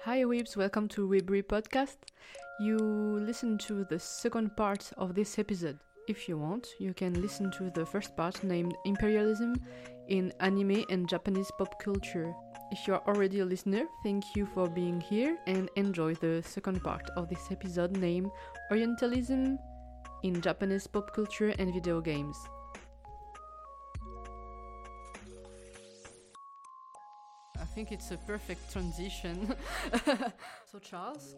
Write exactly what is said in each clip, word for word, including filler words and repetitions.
Hi Weebs, welcome to Weebry Podcast. You listen to the second part of this episode. If you want, you can listen to the first part named Imperialism in Anime and Japanese Pop Culture. If you are already a listener, thank you for being here and enjoy the second part of this episode named Orientalism in Japanese Pop Culture and Video Games. I think it's a perfect transition. So Charles,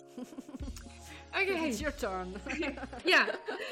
okay, it's your turn. Yeah.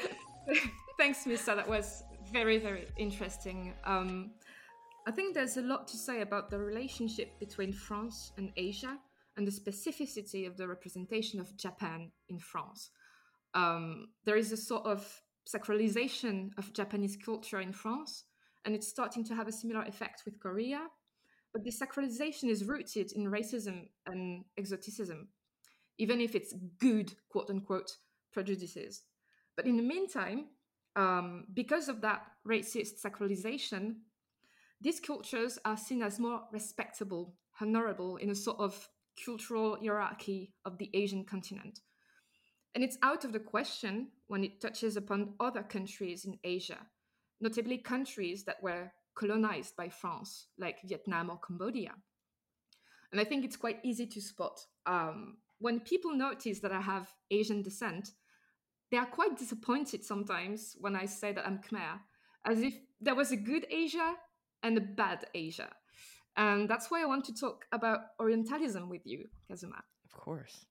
Thanks, Missa. That was very, very interesting. Um, I think there's a lot to say about the relationship between France and Asia and the specificity of the representation of Japan in France. Um, there is a sort of sacralization of Japanese culture in France, and it's starting to have a similar effect with Korea. But this sacralization is rooted in racism and exoticism, even if it's good, quote unquote, prejudices. But in the meantime, um, because of that racist sacralization, these cultures are seen as more respectable, honorable in a sort of cultural hierarchy of the Asian continent. And it's out of the question when it touches upon other countries in Asia, notably countries that were colonized by France, like Vietnam or Cambodia. And I think it's quite easy to spot. Um, when people notice that I have Asian descent, they are quite disappointed sometimes when I say that I'm Khmer, as if there was a good Asia and a bad Asia. And that's why I want to talk about Orientalism with you, Kazuma. Of course.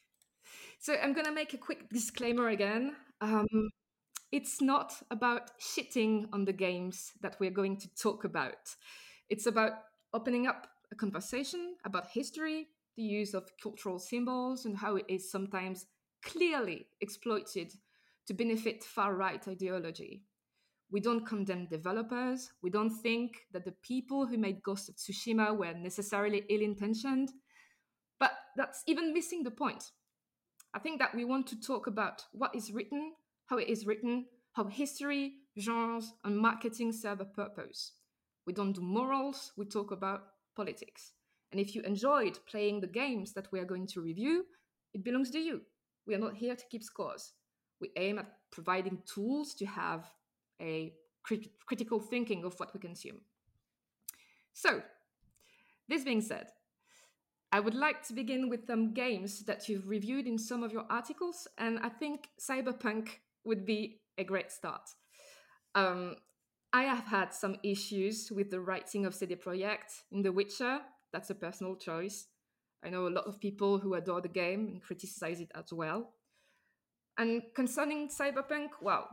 So I'm going to make a quick disclaimer again. Um, it's not about shitting on the games that we're going to talk about. It's about opening up a conversation about history, the use of cultural symbols, and how it is sometimes clearly exploited to benefit far-right ideology. We don't condemn developers. We don't think that the people who made Ghost of Tsushima were necessarily ill-intentioned. But that's even missing the point. I think that we want to talk about what is written, how it is written, how history, genres, and marketing serve a purpose. We don't do morals, we talk about politics. And if you enjoyed playing the games that we are going to review, it belongs to you. We are not here to keep scores. We aim at providing tools to have a crit- critical thinking of what we consume. So, this being said, I would like to begin with some games that you've reviewed in some of your articles, and I think Cyberpunk would be a great start. Um, I have had some issues with the writing of C D Projekt in The Witcher. That's a personal choice. I know a lot of people who adore the game and criticize it as well. And concerning Cyberpunk, well,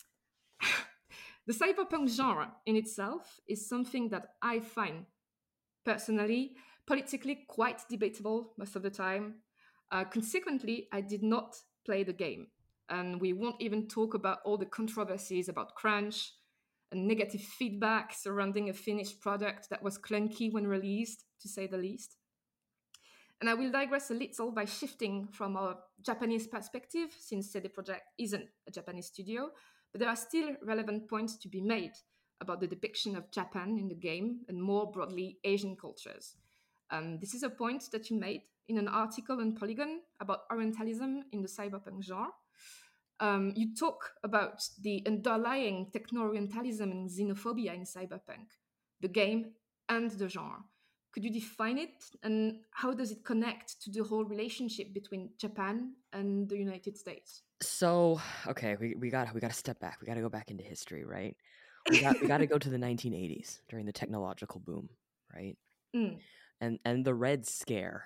the Cyberpunk genre in itself is something that I find personally politically quite debatable most of the time. Uh, consequently, I did not play the game. And we won't even talk about all the controversies about crunch and negative feedback surrounding a finished product that was clunky when released, to say the least. And I will digress a little by shifting from a Japanese perspective, since C D Projekt isn't a Japanese studio, but there are still relevant points to be made about the depiction of Japan in the game and more broadly Asian cultures. Um, this is a point that you made in an article on Polygon about Orientalism in the cyberpunk genre. Um, you talk about the underlying techno-Orientalism and xenophobia in cyberpunk, the game and the genre. Could you define it, and how does it connect to the whole relationship between Japan and the United States? So, okay, we, we got we got to step back. We got to go back into history, right? We got we got to go to the nineteen eighties during the technological boom, right? Mm. And and the Red Scare.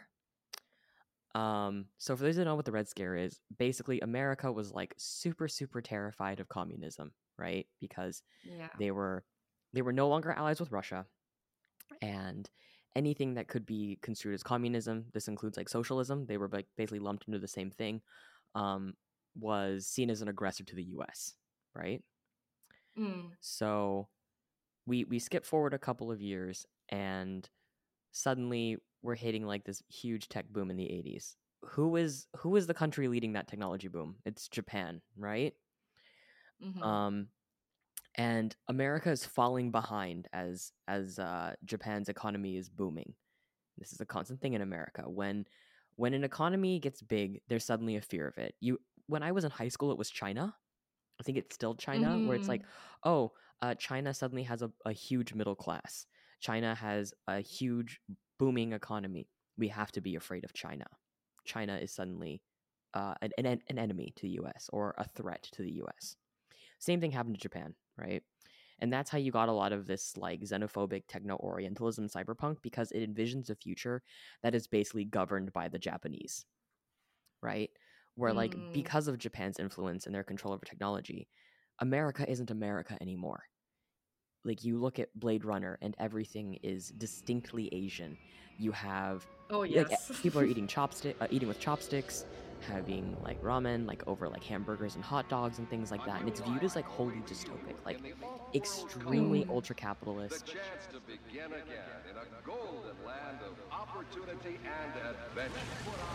Um, so for those who don't know what the Red Scare is, basically America was like super super terrified of communism, right? Because Yeah. they were they were no longer allies with Russia, and anything that could be construed as communism, this includes like socialism, they were like basically lumped into the same thing, um, was seen as an aggressor to the U S, right? Mm. So we we skip forward a couple of years, and suddenly we're hitting like this huge tech boom in the eighties. Who is who is the country leading that technology boom? It's Japan, right? Mm-hmm. Um, and America is falling behind as as uh, Japan's economy is booming. This is a constant thing in America. When When an economy gets big, there's suddenly a fear of it. You, when I was in high school, it was China. I think it's still China, where it's like, Mm. oh, uh, China suddenly has a, a huge middle class. China has a huge booming economy. We have to be afraid of China. China is suddenly uh, an, an an enemy to the U S or a threat to the U S. Same thing happened to Japan, right? And that's how you got a lot of this like xenophobic techno-orientalism cyberpunk, because it envisions a future that is basically governed by the Japanese, right? Where like Mm. because of Japan's influence and their control over technology, America isn't America anymore. Like you look at Blade Runner and everything is distinctly Asian. You have Oh like yes. people are eating chopstick, uh, eating with chopsticks, having like ramen, like over like hamburgers and hot dogs and things like that, and it's viewed as like wholly dystopic, like extremely Mm. ultra The capitalist. chance to begin again in a golden land of opportunity and adventure.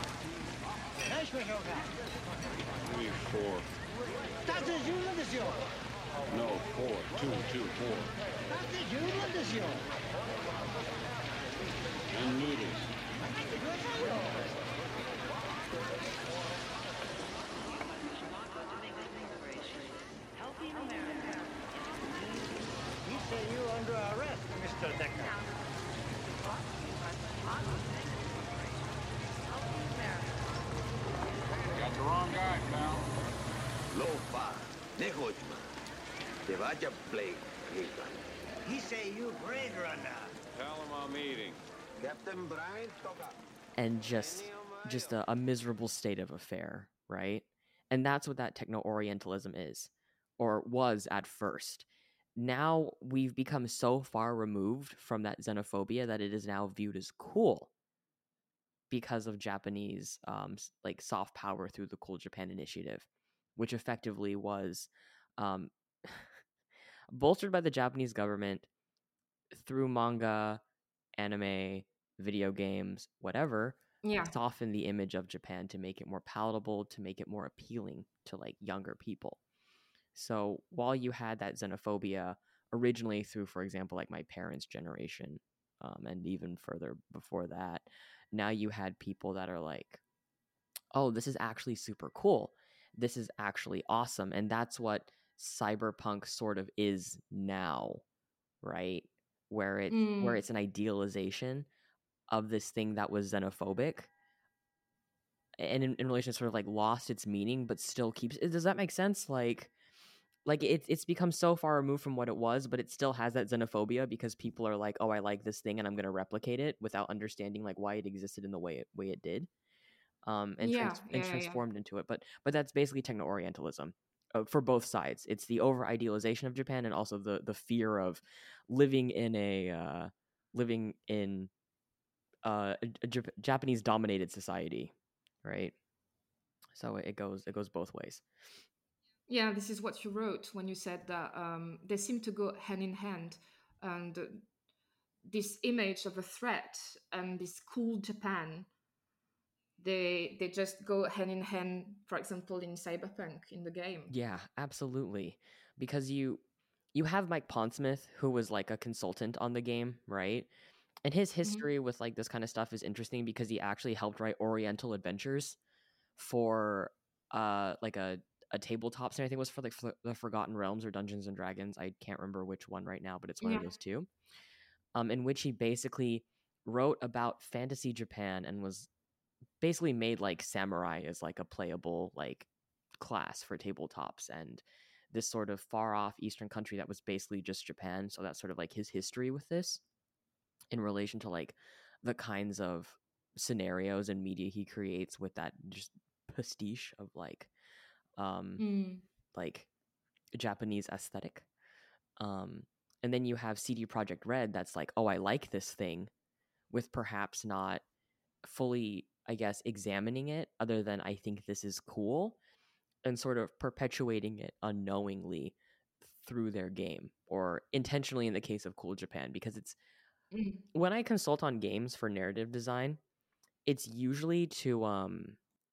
Three, four. No, four. Two, two, four. And noodles. Helping America. We say you're under arrest, Mister Decker. Got the wrong guy, pal. Lo-fi, Nehochma. Te vaya Blade, Hickman. He say you Blade Runner. Tell him I'm eating. Captain Brian Toga. And just just a, a miserable state of affair, right? And that's what that techno-orientalism is, or was at first. Now we've become so far removed from that xenophobia that it is now viewed as cool because of Japanese um, like soft power through the Cool Japan Initiative, which effectively was um, bolstered by the Japanese government through manga, anime, video games, whatever, Yeah. soften the image of Japan to make it more palatable, to make it more appealing to like younger people. So while you had that xenophobia originally through, for example, like my parents' generation, um, and even further before that, now you had people that are like, oh, this is actually super cool. This is actually awesome. And that's what cyberpunk sort of is now, right? Where it's Mm. where it's an idealization of this thing that was xenophobic, and in, in relation to sort of like lost its meaning, but still keeps. Does that make sense? Like, like it's it's become so far removed from what it was, but it still has that xenophobia because people are like, oh, I like this thing, and I'm going to replicate it without understanding like why it existed in the way it way it did, um, and Yeah, trans- yeah, and yeah, yeah. transformed into it. But but that's basically techno-orientalism. Uh, for both sides, it's the over idealization of Japan and also the the fear of living in a uh, living in uh, a, a Jap- Japanese dominated society, right? So it goes it goes both ways. Yeah, this is what you wrote when you said that um, they seem to go hand in hand, and uh, this image of a threat and this cool Japan, they they just go hand in hand. For example, in Cyberpunk in the game. Yeah, absolutely. Because you you have Mike Pondsmith, who was like a consultant on the game, right? And his history with like this kind of stuff is interesting because he actually helped write Oriental Adventures for uh like a a tabletop and I think it was for like for the Forgotten Realms or Dungeons and Dragons. I can't remember which one right now, but it's one Yeah. of those two. Um, in which he basically wrote about fantasy Japan and was basically made like samurai as like a playable like class for tabletops, and this sort of far off Eastern country that was basically just Japan. So that's sort of like his history with this in relation to like the kinds of scenarios and media he creates with that just pastiche of like um Mm. like Japanese aesthetic. Um and then you have C D Projekt Red that's like, oh, I like this thing, with perhaps not fully, I guess, examining it other than I think this is cool, and sort of perpetuating it unknowingly through their game, or intentionally in the case of Cool Japan, because it's Mm. when I consult on games for narrative design, it's usually to um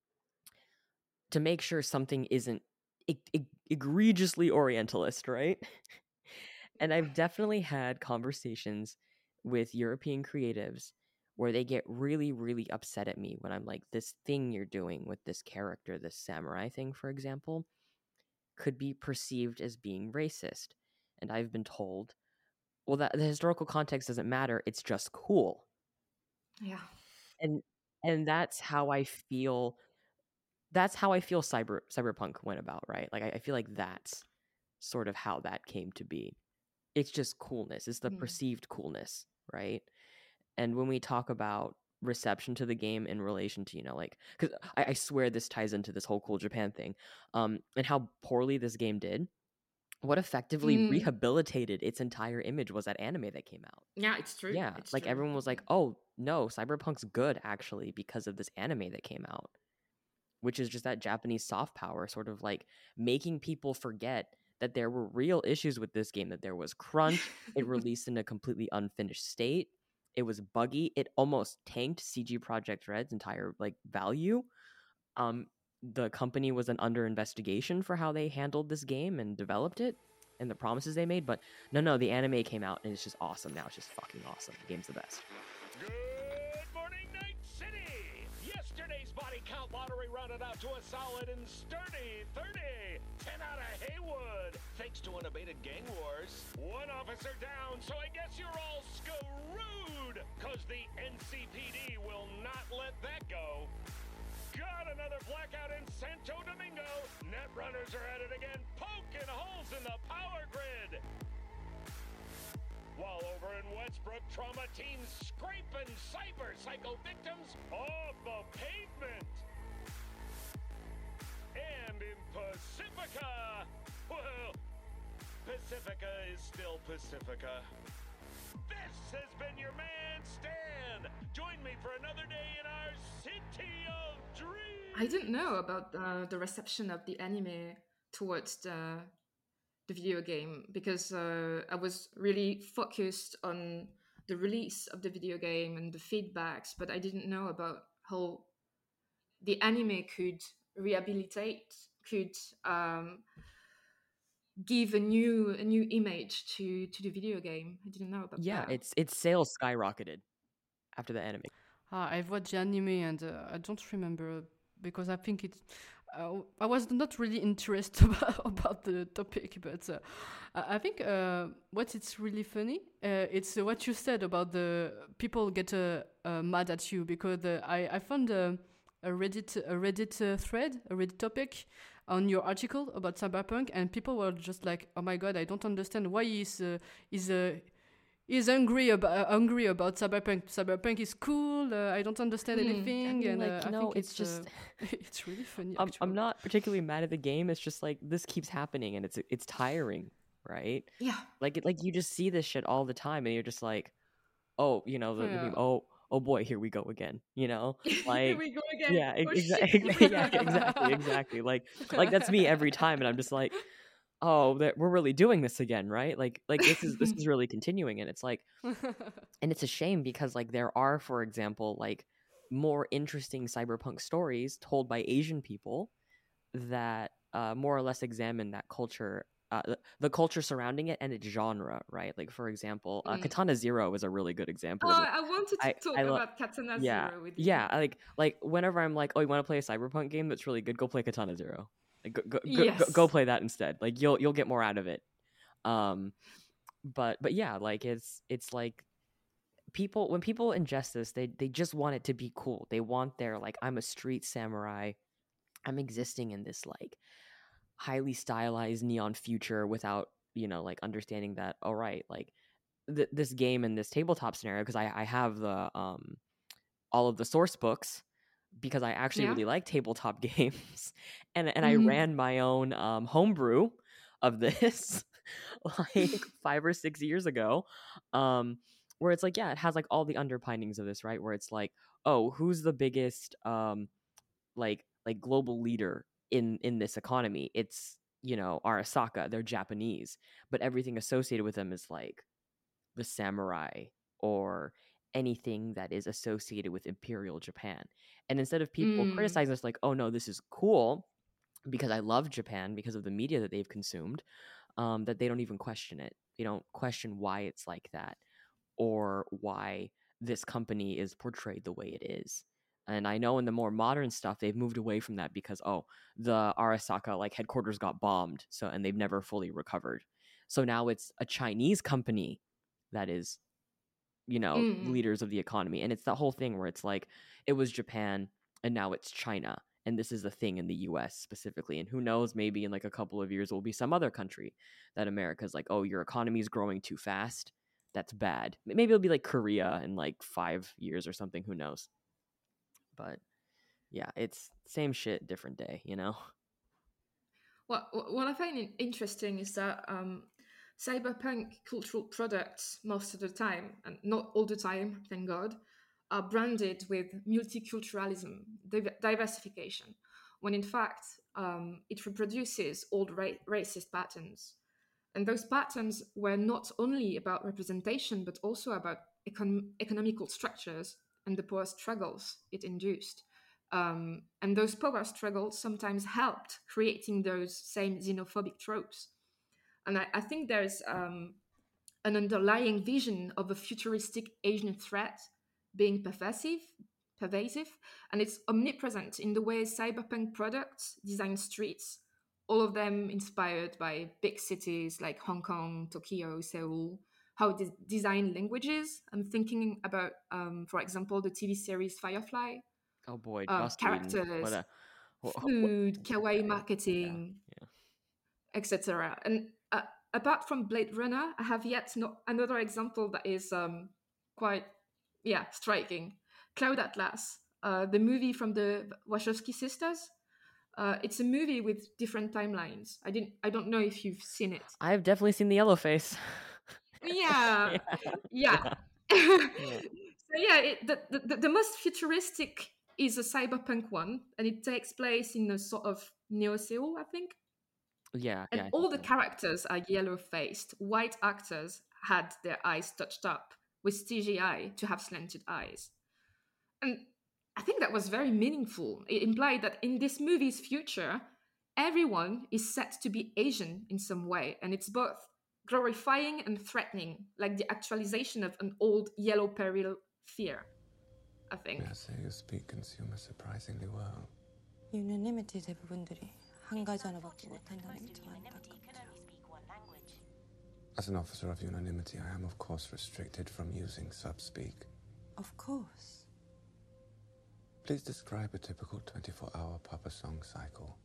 to make sure something isn't e- e- egregiously Orientalist, right? And I've definitely had conversations with European creatives where they get really, really upset at me when I'm like, this thing you're doing with this character, this samurai thing, for example, could be perceived as being racist. And I've been told, well, that the historical context doesn't matter. It's just cool. Yeah. And and that's how I feel. That's how I feel cyber cyberpunk went about, right? Like I, I feel like that's sort of how that came to be. It's just coolness. It's the Mm. perceived coolness, right? And when we talk about reception to the game in relation to, you know, like, because I, I swear this ties into this whole Cool Japan thing, um, and how poorly this game did. What effectively Mm. rehabilitated its entire image was that anime that came out. Yeah, it's true. Yeah, It's like true. everyone was like, "Oh no, Cyberpunk's good actually because of this anime that came out," which is just that Japanese soft power, sort of like making people forget that there were real issues with this game. That there was crunch. It released in a completely unfinished state. It was buggy. It almost tanked C G Projekt Red's entire like value. Um, the company was an under investigation for how they handled this game and developed it and the promises they made. But no, no, the anime came out and it's just awesome now. It's just fucking awesome. The game's the best. Good morning, Night City! Yesterday's body count lottery rounded out to a solid and sturdy thirty. ten out of Haywood, thanks to unabated gang wars. One officer down, so I guess you're all screwed, cause the N C P D will not let that go. Got another blackout in Santo Domingo. Netrunners are at it again, poking holes in the power grid. While over in Westbrook, trauma teams scraping cyber psycho victims off the pavement. And in Pacifica, well, Pacifica is still Pacifica. This has been your man, Stan. Join me for another day in our city of dreams. I didn't know about uh, the reception of the anime towards the the video game because uh, I was really focused on the release of the video game and the feedbacks, but I didn't know about how the anime could rehabilitate, could um, give a new a new image to to the video game. I didn't know about Yeah, that. it's its sales skyrocketed after the anime. Ah, I've watched the anime and uh, I don't remember because I think it. Uh, I was not really interested about, about the topic, but uh, I I think uh, what it's really funny, uh, it's uh, what you said about the people get uh, uh, mad at you because uh, I I found uh, a Reddit a Reddit uh, thread, a Reddit topic on your article about Cyberpunk, and people were just like, "Oh my god, I don't understand why is uh, is uh, is angry about uh, angry about Cyberpunk. Cyberpunk is cool. Uh, I don't understand Hmm. anything." I mean, and like, uh, I no, think it's it's just- uh, it's really funny. I'm, actually. I'm not particularly mad at the game. It's just like this keeps happening and it's it's tiring, right? Yeah. Like it, like you just see this shit all the time and you're just like, oh, you know, the, the meme, Yeah. oh, oh boy, here we go again. You know, Here like we go again. yeah, Oh, ex- shit. exa- yeah, exactly, exactly. Like like that's me every time, and I'm just like, oh, that we're really doing this again, right? Like like this is this is really continuing, and it's like, and it's a shame because like there are, for example, like more interesting cyberpunk stories told by Asian people that uh, more or less examine that culture. Uh, the, the culture surrounding it and its genre, right? Like, for example, uh, Mm. Katana Zero is a really good example. Oh, of it. I wanted to I- talk I lo- about Katana yeah, Zero with you. yeah. I Like, like whenever I'm like, oh, you want to play a cyberpunk game that's really good? Go play Katana Zero. Like, go, go, go, go, Yes. go play that instead. Like, you'll you'll get more out of it. Um, but but yeah, like it's it's like people when people ingest this, they they just want it to be cool. They want their like, I'm a street samurai. I'm existing in this like highly stylized neon future without, you know, like understanding that, all right, like th- this game and this tabletop scenario, because I, I have the um all of the source books because I actually Yeah. really like tabletop games, and and Mhm. I ran my own um homebrew of this like five or six years ago, um where it's like, yeah, it has like all the underpinnings of this, right? Where it's like, oh, who's the biggest um like like global leader in in this economy? It's, you know, Arasaka. They're Japanese, but everything associated with them is like the samurai or anything that is associated with Imperial Japan. And instead of people Mm. criticizing us like, oh no, this is cool because I love Japan because of the media that they've consumed, um, that they don't even question it. They don't question why it's like that or why this company is portrayed the way it is. And I know in the more modern stuff, they've moved away from that because, oh, the Arasaka like headquarters got bombed, so and they've never fully recovered. So now it's a Chinese company that is, you know, Mm. leaders of the economy. And it's that whole thing where it's like, it was Japan and now it's China. And this is the thing in the U S specifically. And who knows, maybe in like a couple of years, it will be some other country that America's like, oh, your economy is growing too fast. That's bad. Maybe it'll be like Korea in like five years or something. Who knows? But yeah, it's same shit, different day, you know? What what I find interesting is that um, cyberpunk cultural products most of the time, and not all the time, thank God, are branded with multiculturalism, div- diversification, when in fact um, it reproduces old ra- racist patterns. And those patterns were not only about representation, but also about econ- economical structures and the power struggles it induced. Um, and those power struggles sometimes helped creating those same xenophobic tropes. And I, I think there's um, an underlying vision of a futuristic Asian threat being pervasive, pervasive, and it's omnipresent in the way cyberpunk products design streets, all of them inspired by big cities like Hong Kong, Tokyo, Seoul. How they design languages. I'm thinking about, um, for example, the T V series Firefly. Oh boy, Um, Joss Whedon. What characters, a what, food, kawaii yeah, marketing, yeah. et cetera. And uh, apart from Blade Runner, I have yet no, another example that is um, quite, yeah, striking. Cloud Atlas, uh, the movie from the Wachowski sisters. Uh, it's a movie with different timelines. I didn't. I don't know if you've seen it. I've definitely seen the yellow face. Yeah, yeah. yeah. Yeah. So yeah, it, the, the the most futuristic is a cyberpunk one, and it takes place in a sort of Neo Seoul, I think. Yeah, And yeah. I all think the so. characters are yellow faced. White actors had their eyes touched up with C G I to have slanted eyes. And I think that was very meaningful. It implied that in this movie's future, everyone is set to be Asian in some way, and it's both glorifying and threatening, like the actualization of an old yellow peril fear, I think. May I say you speak consumer surprisingly well. 유너니미티 대부분들이 한 가지 하나밖에 못한다는 게 저 안타깝죠. As an officer of unanimity, I am of course restricted from using sub-speak. Of course. Please describe a typical twenty-four hour Papa Song cycle.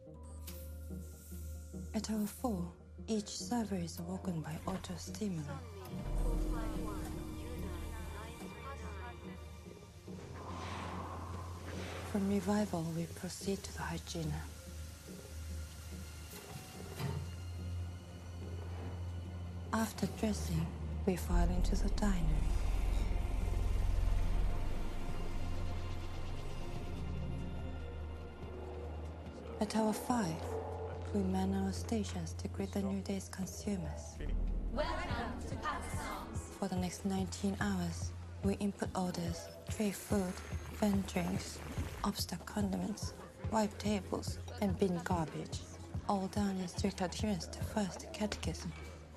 At hour four, each server is awoken by auto-stimulant. From revival, we proceed to the hygiena. After dressing, we file into the diner. At hour five, we man our stations to greet the new day's consumers. Welcome to Papa Songs. For the next nineteen hours, we input orders, tray food, vent drinks, upstock condiments, wipe tables, and bin garbage, all done in strict adherence to First Catechism.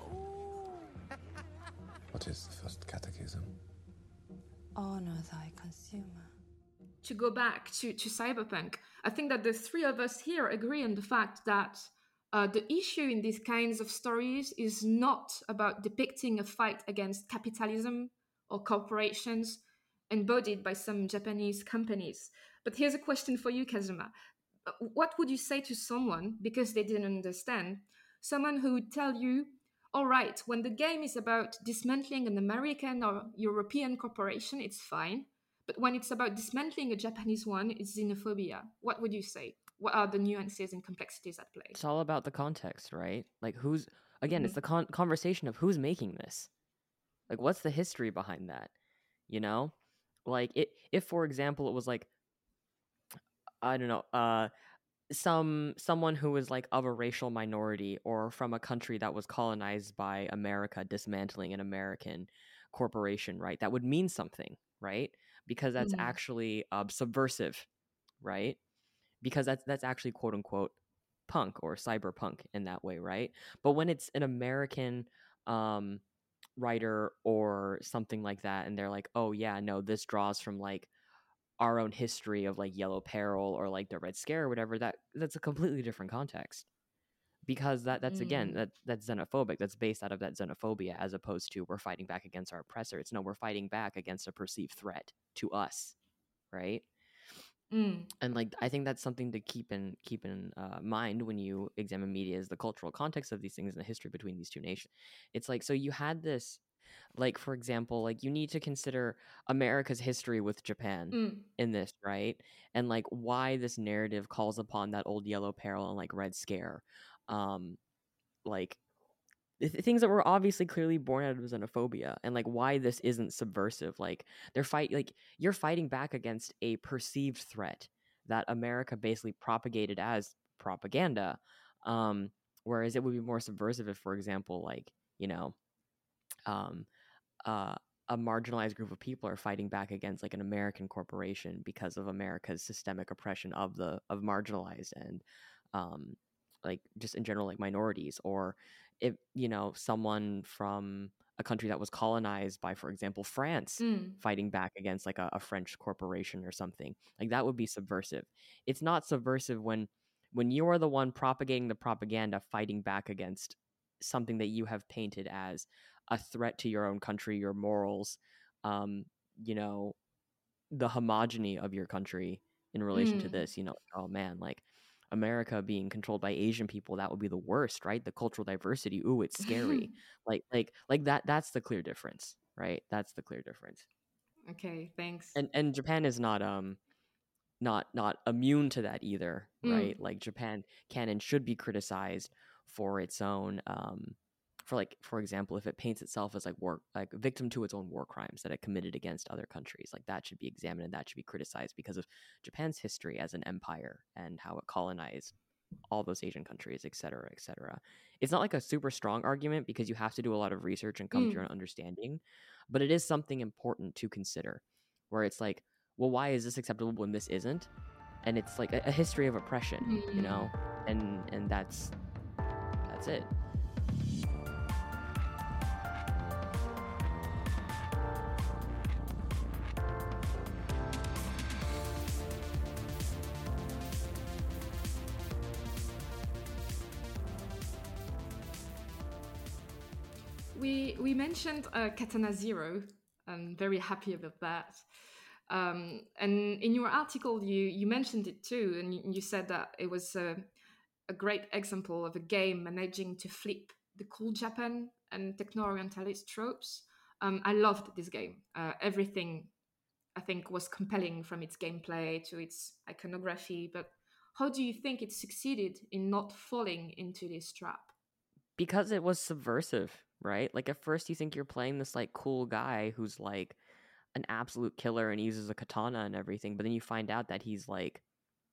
What is the first catechism? Honor thy consumer. To go back to, to cyberpunk, I think that the three of us here agree on the fact that uh, the issue in these kinds of stories is not about depicting a fight against capitalism or corporations embodied by some Japanese companies. But here's a question for you, Kazuma. What would you say to someone, because they didn't understand, someone who would tell you, all right, when the game is about dismantling an American or European corporation, it's fine. But when it's about dismantling a Japanese one, it's xenophobia. What would you say? What are the nuances and complexities at play? It's all about the context, right? Like who's, again, Mm-hmm. it's the con- conversation of who's making this. Like what's the history behind that? You know? Like it, if for example it was like, I don't know, uh, some someone who was like of a racial minority or from a country that was colonized by America dismantling an American corporation, right? That would mean something, right? Because that's Mhm. actually uh, subversive, right? Because that's that's actually quote unquote punk or cyberpunk in that way, right? But when it's an American um writer or something like that, and they're like, oh yeah, no, this draws from like our own history of like Yellow Peril or like the Red Scare or whatever, that that's a completely different context, because that that's again Mm. that that's xenophobic. That's based out of that xenophobia, as opposed to we're fighting back against our oppressor. It's no, we're fighting back against a perceived threat to us, right? Mm. And like I think that's something to keep in keep in uh, mind when you examine media, is the cultural context of these things and the history between these two nations. It's like, so you had this, like for example, like you need to consider America's history with Japan Mm. in this, right? And like why this narrative calls upon that old Yellow Peril and like Red Scare, um, like th- things that were obviously clearly born out of xenophobia, and like why this isn't subversive. Like they're fight like you're fighting back against a perceived threat that America basically propagated as propaganda, um whereas it would be more subversive if, for example, like, you know, um uh a marginalized group of people are fighting back against like an American corporation because of America's systemic oppression of the of marginalized and um like just in general like minorities. Or if, you know, someone from a country that was colonized by, for example, France, Mm. fighting back against like a, a French corporation or something, like that would be subversive. It's not subversive when when you are the one propagating the propaganda, fighting back against something that you have painted as a threat to your own country, your morals, um, you know, the homogeny of your country in relation to Mm. this. You know, oh man, like America being controlled by Asian people, that would be the worst, right? The cultural diversity, ooh, it's scary. like, like, like that. That's the clear difference, right? That's the clear difference. Okay, thanks. And and Japan is not um not not immune to that either, right? Mm. Like Japan can and should be criticized for its own um for like, for example, if it paints itself as like war like a victim to its own war crimes that it committed against other countries, like that should be examined and that should be criticized because of Japan's history as an empire and how it colonized all those Asian countries, et cetera, et cetera. It's not like a super strong argument because you have to do a lot of research and come to your Mm. own understanding, but it is something important to consider, where it's like, well, why is this acceptable when this isn't? And it's like a, a history of oppression, you know, and and that's that's it. We we mentioned uh, Katana Zero. I'm very happy about that. Um, and in your article, you you mentioned it too, and you, you said that it was a, a great example of a game managing to flip the cool Japan and techno-orientalist tropes. Um, I loved this game. Uh, everything I think was compelling, from its gameplay to its iconography. But how do you think it succeeded in not falling into this trap? Because it was subversive, right? Like at first you think you're playing this like cool guy who's like an absolute killer and uses a katana and everything, but then you find out that he's like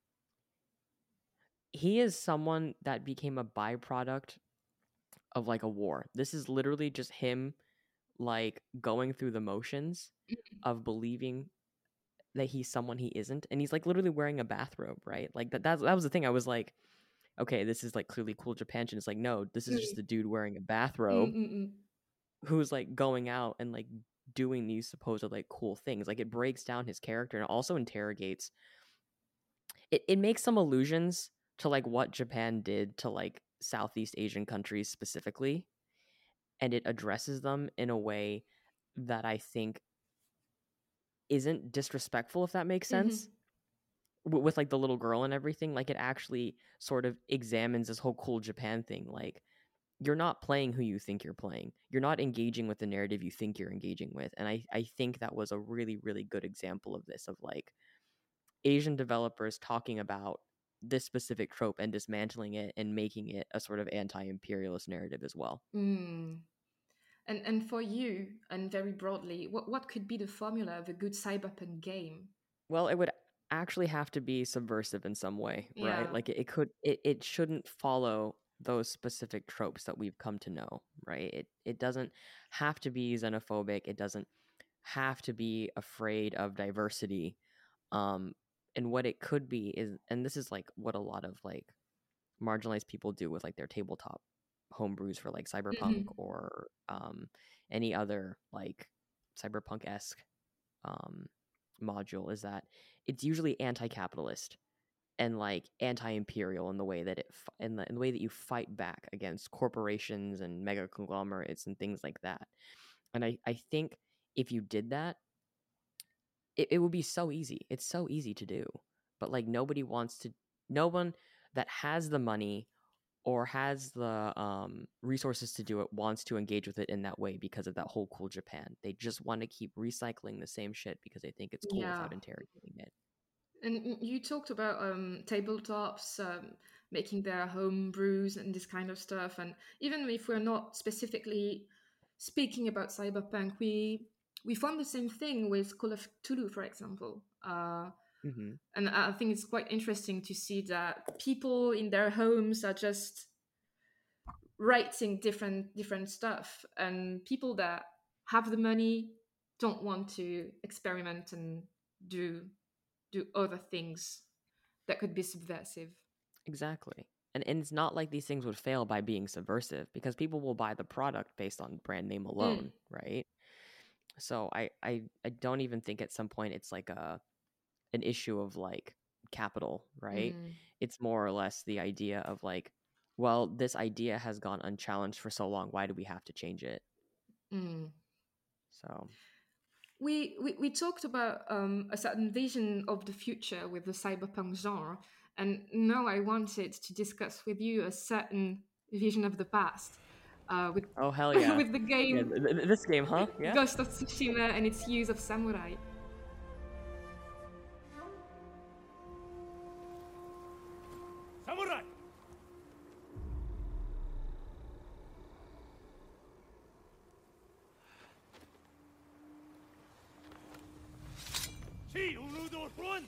he is someone that became a byproduct of like a war. This is literally just him like going through the motions of believing that he's someone he isn't, and he's like literally wearing a bathrobe, right? Like that that, that was the thing. I was like, okay, this is like clearly cool Japan. And it's like, no, this is just the dude wearing a bathrobe Mm-mm-mm. who's like going out and like doing these supposed like cool things. Like it breaks down his character and also interrogates it, it makes some allusions to like what Japan did to like Southeast Asian countries specifically, and it addresses them in a way that I think isn't disrespectful, if that makes sense. Mm-hmm. W- with like the little girl and everything, like it actually sort of examines this whole cool Japan thing. Like you're not playing who you think you're playing. You're not engaging with the narrative you think you're engaging with. And I, I think that was a really, really good example of this, of like Asian developers talking about this specific trope and dismantling it and making it a sort of anti-imperialist narrative as well. Mm. And and for you, and very broadly, what, what could be the formula of a good cyberpunk game? Well, it would actually have to be subversive in some way, right? Yeah. Like it, it could it, it shouldn't follow those specific tropes that we've come to know, right? It it doesn't have to be xenophobic. It doesn't have to be afraid of diversity. Um and what it could be is, and this is like what a lot of like marginalized people do with like their tabletop homebrews for like Cyberpunk Mhm. or um, any other like Cyberpunk-esque um, module is that it's usually anti-capitalist and like anti-imperial in the way that it fi- in the in the way that you fight back against corporations and mega conglomerates and things like that. And I I think if you did that, it, it would be so easy. It's so easy to do. But like nobody wants to no one that has the money or has the um, resources to do it wants to engage with it in that way because of that whole cool Japan. They just want to keep recycling the same shit because they think it's cool Yeah. without interrogating it. And y- you talked about um, tabletops, um, making their home brews and this kind of stuff. And even if we're not specifically speaking about cyberpunk, we we found the same thing with Call of Cthulhu, for example. Uh, Mm-hmm. and I think it's quite interesting to see that people in their homes are just writing different different stuff, and people that have the money don't want to experiment and do do other things that could be subversive. Exactly. And, and it's not like these things would fail by being subversive because people will buy the product based on brand name alone, Mm. right? So I, I I don't even think at some point it's like a an issue of like capital, right? Mm. It's more or less the idea of like, well, this idea has gone unchallenged for so long. Why do we have to change it? Mm. So We, we we talked about um, a certain vision of the future with the cyberpunk genre, and now I wanted to discuss with you a certain vision of the past, uh, with oh hell yeah, with the yeah. game th- th- this game, huh? Yeah. Ghost of Tsushima and its use of samurai. Samurai! See, Ulu those ones!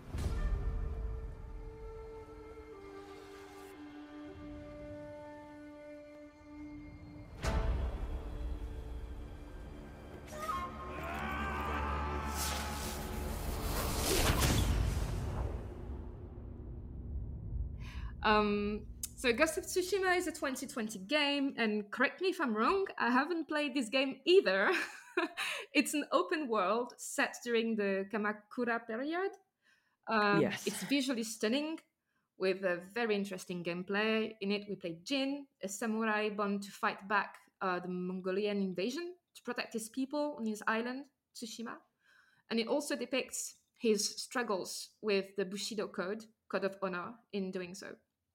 Um, so Ghost of Tsushima is a twenty twenty game, and correct me if I'm wrong, I haven't played this game either. It's an open world set during the Kamakura period. Um, Yes. It's visually stunning with a very interesting gameplay. In it, we play Jin, a samurai born to fight back uh, the Mongolian invasion to protect his people on his island, Tsushima. And it also depicts his struggles with the Bushido Code, Code of Honor, in doing so.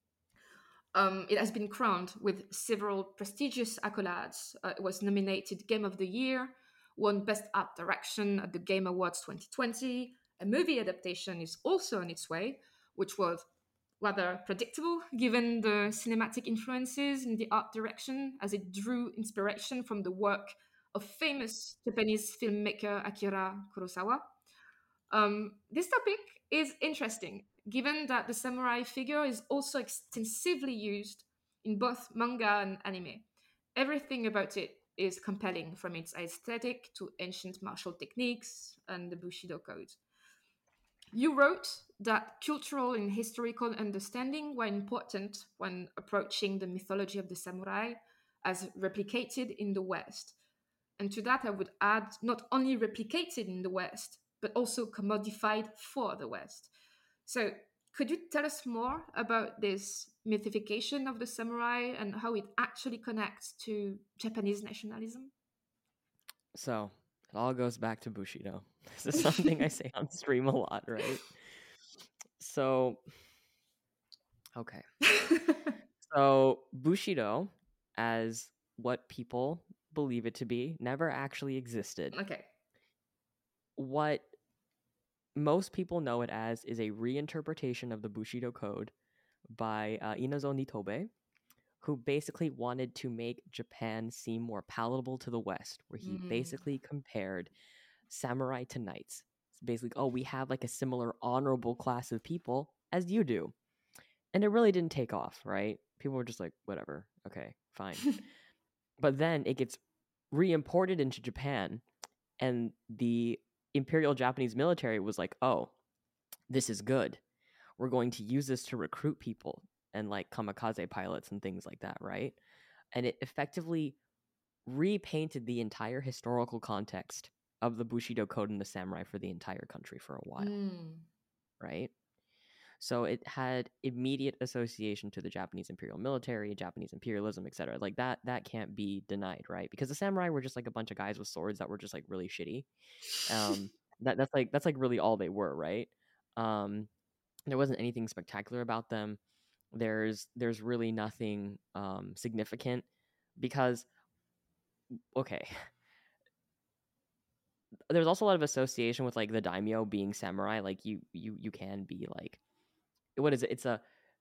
Um, it has been crowned with several prestigious accolades. Uh, it was nominated Game of the Year, won Best Art Direction at the Game Awards twenty twenty. A movie adaptation is also on its way, which was rather predictable given the cinematic influences in the art direction, as it drew inspiration from the work of famous Japanese filmmaker Akira Kurosawa. Um, this topic is interesting, given that the samurai figure is also extensively used in both manga and anime. Everything about it is compelling, from its aesthetic to ancient martial techniques and the Bushido Code. You wrote that cultural and historical understanding were important when approaching the mythology of the samurai as replicated in the West. And to that, I would add not only replicated in the West, but also commodified for the West. So, could you tell us more about this mythification of the samurai and how it actually connects to Japanese nationalism? So it all goes back to Bushido. This is something I say on stream a lot, right? So, okay. So Bushido, as what people believe it to be, never actually existed. Okay. What most people know it as is a reinterpretation of the Bushido Code by uh, Inazo Nitobe, who basically wanted to make Japan seem more palatable to the West, where he Mm. basically compared samurai to knights. It's basically, oh, we have like a similar honorable class of people as you do. And it really didn't take off, right? People were just like, whatever, okay, fine. But then it gets re-imported into Japan, and the Imperial Japanese military was like, oh, this is good. We're going to use this to recruit people and like kamikaze pilots and things like that, right? and it effectively repainted the entire historical context of the Bushido Code and the samurai for the entire country for a while, Mm. right? So it had immediate association to the Japanese imperial military, Japanese imperialism, et cetera. Like that, that can't be denied, right? Because the samurai were just like a bunch of guys with swords that were just like really shitty. Um, that that's like that's like really all they were, right? Um, there wasn't anything spectacular about them. There's there's really nothing um, significant because, okay, there's also a lot of association with like the daimyo being samurai. Like you you you can be like, what is it? It's a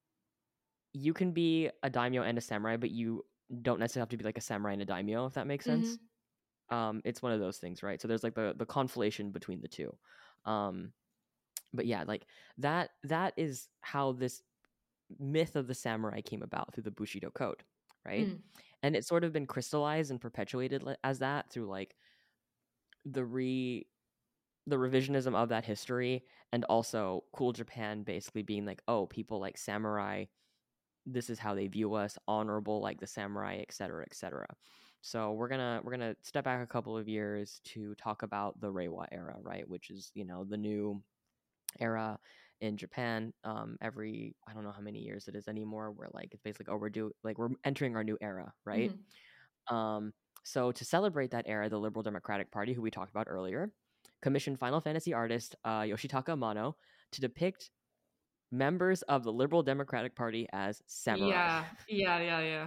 you can be a daimyo and a samurai, but you don't necessarily have to be like a samurai and a daimyo, if that makes sense. Mhm. Um, it's one of those things, right? So there's like the the conflation between the two. Um, but yeah, like that that is how this myth of the samurai came about through the Bushido Code, right? Mm. And it's sort of been crystallized and perpetuated li- as that through like the re the revisionism of that history, and also Cool Japan basically being like, oh, people like samurai, this is how they view us, honorable like the samurai, et cetera, et cetera. So we're gonna we're gonna step back a couple of years to talk about the Reiwa era, right? Which is, you know, the new era in Japan. Um, every I don't know how many years it is anymore. We're like it's basically oh we're do like we're entering our new era, right? Mhm. Um, so to celebrate that era, the Liberal Democratic Party, who we talked about earlier, commissioned Final Fantasy artist uh, Yoshitaka Amano to depict members of the Liberal Democratic Party as samurai. Yeah, yeah, yeah, yeah.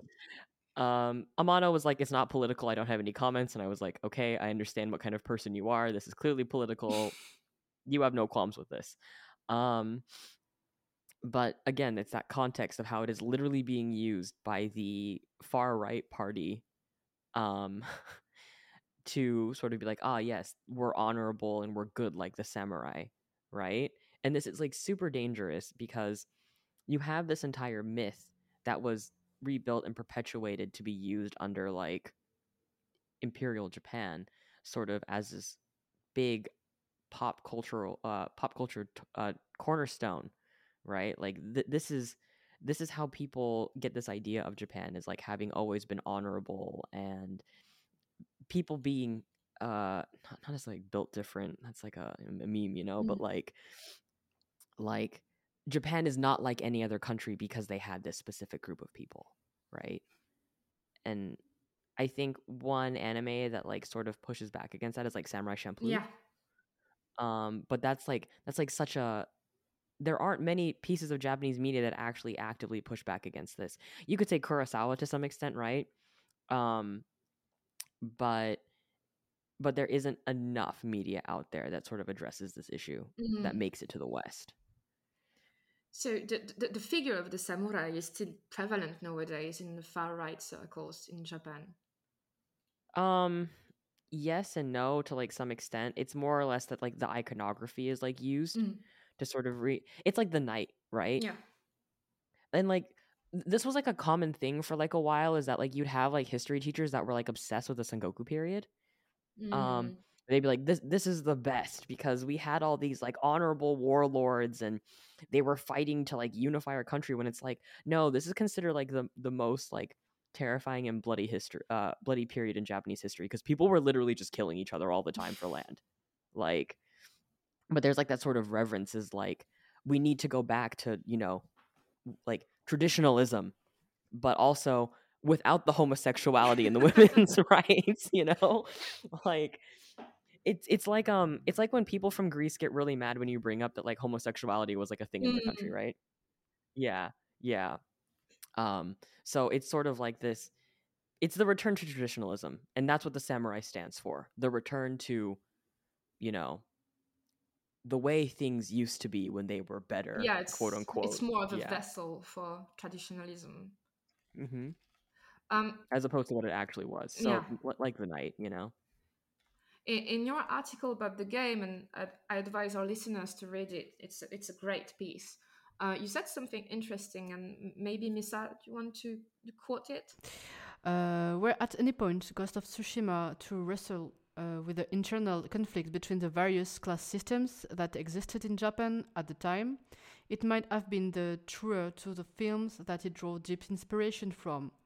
Um, Amano was like, it's not political. I don't have any comments. And I was like, okay, I understand what kind of person you are. This is clearly political. You have no qualms with this. Um, but again, it's that context of how it is literally being used by the far right party um, to sort of be like, ah, yes, we're honorable and we're good like the samurai, right? And this is like super dangerous because you have this entire myth that was rebuilt and perpetuated to be used under like Imperial Japan, sort of as this big pop cultural uh pop culture t- uh cornerstone, right? Like th- this is this is how people get this idea of Japan, is like having always been honorable and people being uh not, not necessarily built different. That's like a, a meme, you know, but Mm. like like Japan is not like any other country because they had this specific group of people, right? And I think one anime that like sort of pushes back against that is like Samurai Champloo. Yeah. Um, but that's like that's like such a there aren't many pieces of Japanese media that actually actively push back against this. You could say Kurosawa to some extent, right? Um, but but there isn't enough media out there that sort of addresses this issue that Mhm. makes it to the West. So the, the the figure of the samurai is still prevalent nowadays in the far right circles in Japan. Um, yes and no to like some extent. It's more or less that like the iconography is like used Mm. to sort of re. It's like the knight, right? Yeah. And like th- this was like a common thing for like a while, is that like you'd have like history teachers that were like obsessed with the Sengoku period. Um, Mm. they'd be like, this this is the best because we had all these like honorable warlords and they were fighting to like unify our country, when it's like, no, this is considered like the the most like terrifying and bloody history uh bloody period in Japanese history, because people were literally just killing each other all the time for land. Like, but there's like that sort of reverence, is like we need to go back to, you know, like traditionalism, but also without the homosexuality and the women's rights, you know? Like it's it's like um it's like when people from Greece get really mad when you bring up that like homosexuality was like a thing in their country, Mm. right? Yeah. Yeah. Um so it's sort of like this, it's the return to traditionalism, and that's what the samurai stands for. The return to, you know, the way things used to be when they were better, Yeah, it's quote unquote. it's more of a Yeah. vessel for traditionalism. Mm-hmm. Um, As opposed to what it actually was. So yeah. l- like the knight, you know. In, in your article about the game, and I, I advise our listeners to read it. It's it's a great piece. Uh, you said something interesting, and m- maybe Misa, do you want to quote it? Uh, where at any point Ghost of Tsushima to wrestle uh, with the internal conflict between the various class systems that existed in Japan at the time, it might have been the truer to the films that it drew deep inspiration from.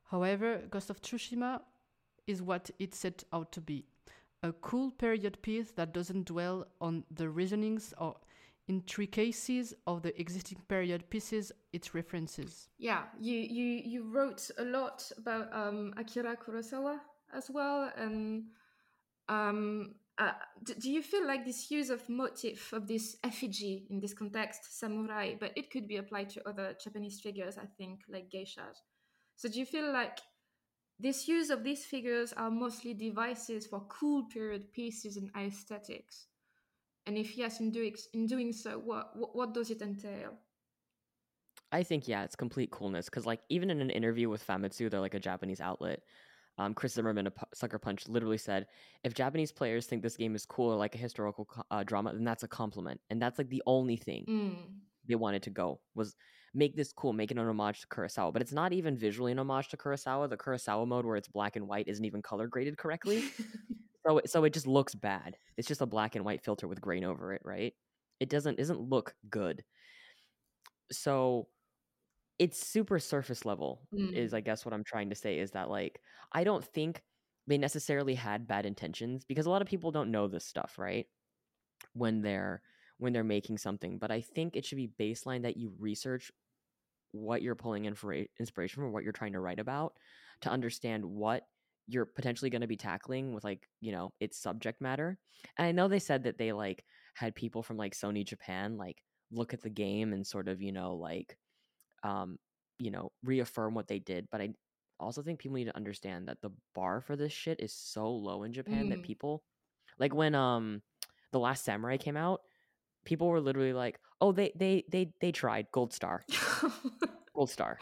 However, Ghost of Tsushima is what it set out to be. A cool period piece that doesn't dwell on the reasonings or intricacies of the existing period pieces it references. Yeah, you you you wrote a lot about um, Akira Kurosawa as well, and um, uh, d- do you feel like this use of motif of this effigy in this context, samurai, but it could be applied to other Japanese figures, I think, like geishas. So do you feel like this use of these figures are mostly devices for cool period pieces and aesthetics? And if yes, in doing in doing so, what what, what does it entail? I think, yeah, it's complete coolness. Because, like, even in an interview with Famitsu, they're like a Japanese outlet. Um, Chris Zimmerman of Pu- Sucker Punch literally said, if Japanese players think this game is cool or like a historical co- uh, drama, then that's a compliment. And that's like the only thing Mm. they wanted to go was make this cool, make it an homage to Kurosawa. But it's not even visually an homage to Kurosawa. The Kurosawa mode where it's black and white isn't even color graded correctly. so so it just looks bad. It's just a black and white filter with grain over it, right? It doesn't doesn't look good. So it's super surface level Mm. is I guess what I'm trying to say is that, like, I don't think they necessarily had bad intentions, because a lot of people don't know this stuff, right? When they're when they're making something, but I think it should be baseline that you research what you're pulling in for inspiration from, what you're trying to write about, to understand what you're potentially going to be tackling with, like, you know, its subject matter. And I know they said that they like had people from like Sony Japan like look at the game and sort of, you know, like um you know, reaffirm what they did, but I also think people need to understand that the bar for this shit is so low in Japan that Mm. people, like, when um The Last Samurai came out, people were literally like, oh, they they they they tried, gold star. Gold star.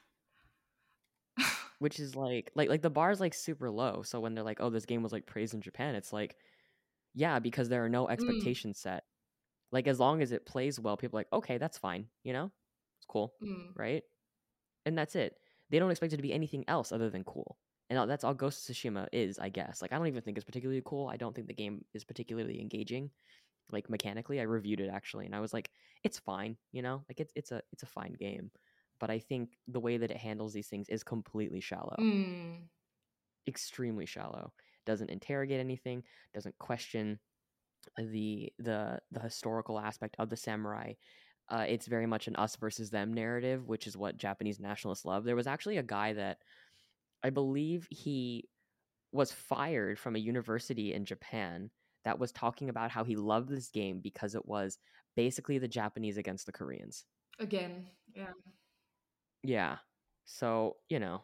Which is like like like the bar is like super low. So when they're like, oh, this game was like praised in Japan, it's like, yeah, because there are no Mm. expectations set. Like, as long as it plays well, people are like, okay, that's fine, you know? It's cool, Mm. right? And that's it. They don't expect it to be anything else other than cool. And that's all Ghost of Tsushima is, I guess. Like, I don't even think it's particularly cool. I don't think the game is particularly engaging, like, mechanically. I reviewed it actually, and I was like, it's fine, you know? Like, it's it's a it's a fine game. But I think the way that it handles these things is completely shallow. Mm. Extremely shallow. Doesn't interrogate anything, doesn't question the the the historical aspect of the samurai. Uh, it's very much an us versus them narrative, which is what Japanese nationalists love. There was actually a guy that I believe he was fired from a university in Japan that was talking about how he loved this game because it was basically the Japanese against the Koreans. Again, yeah. Yeah. So, you know.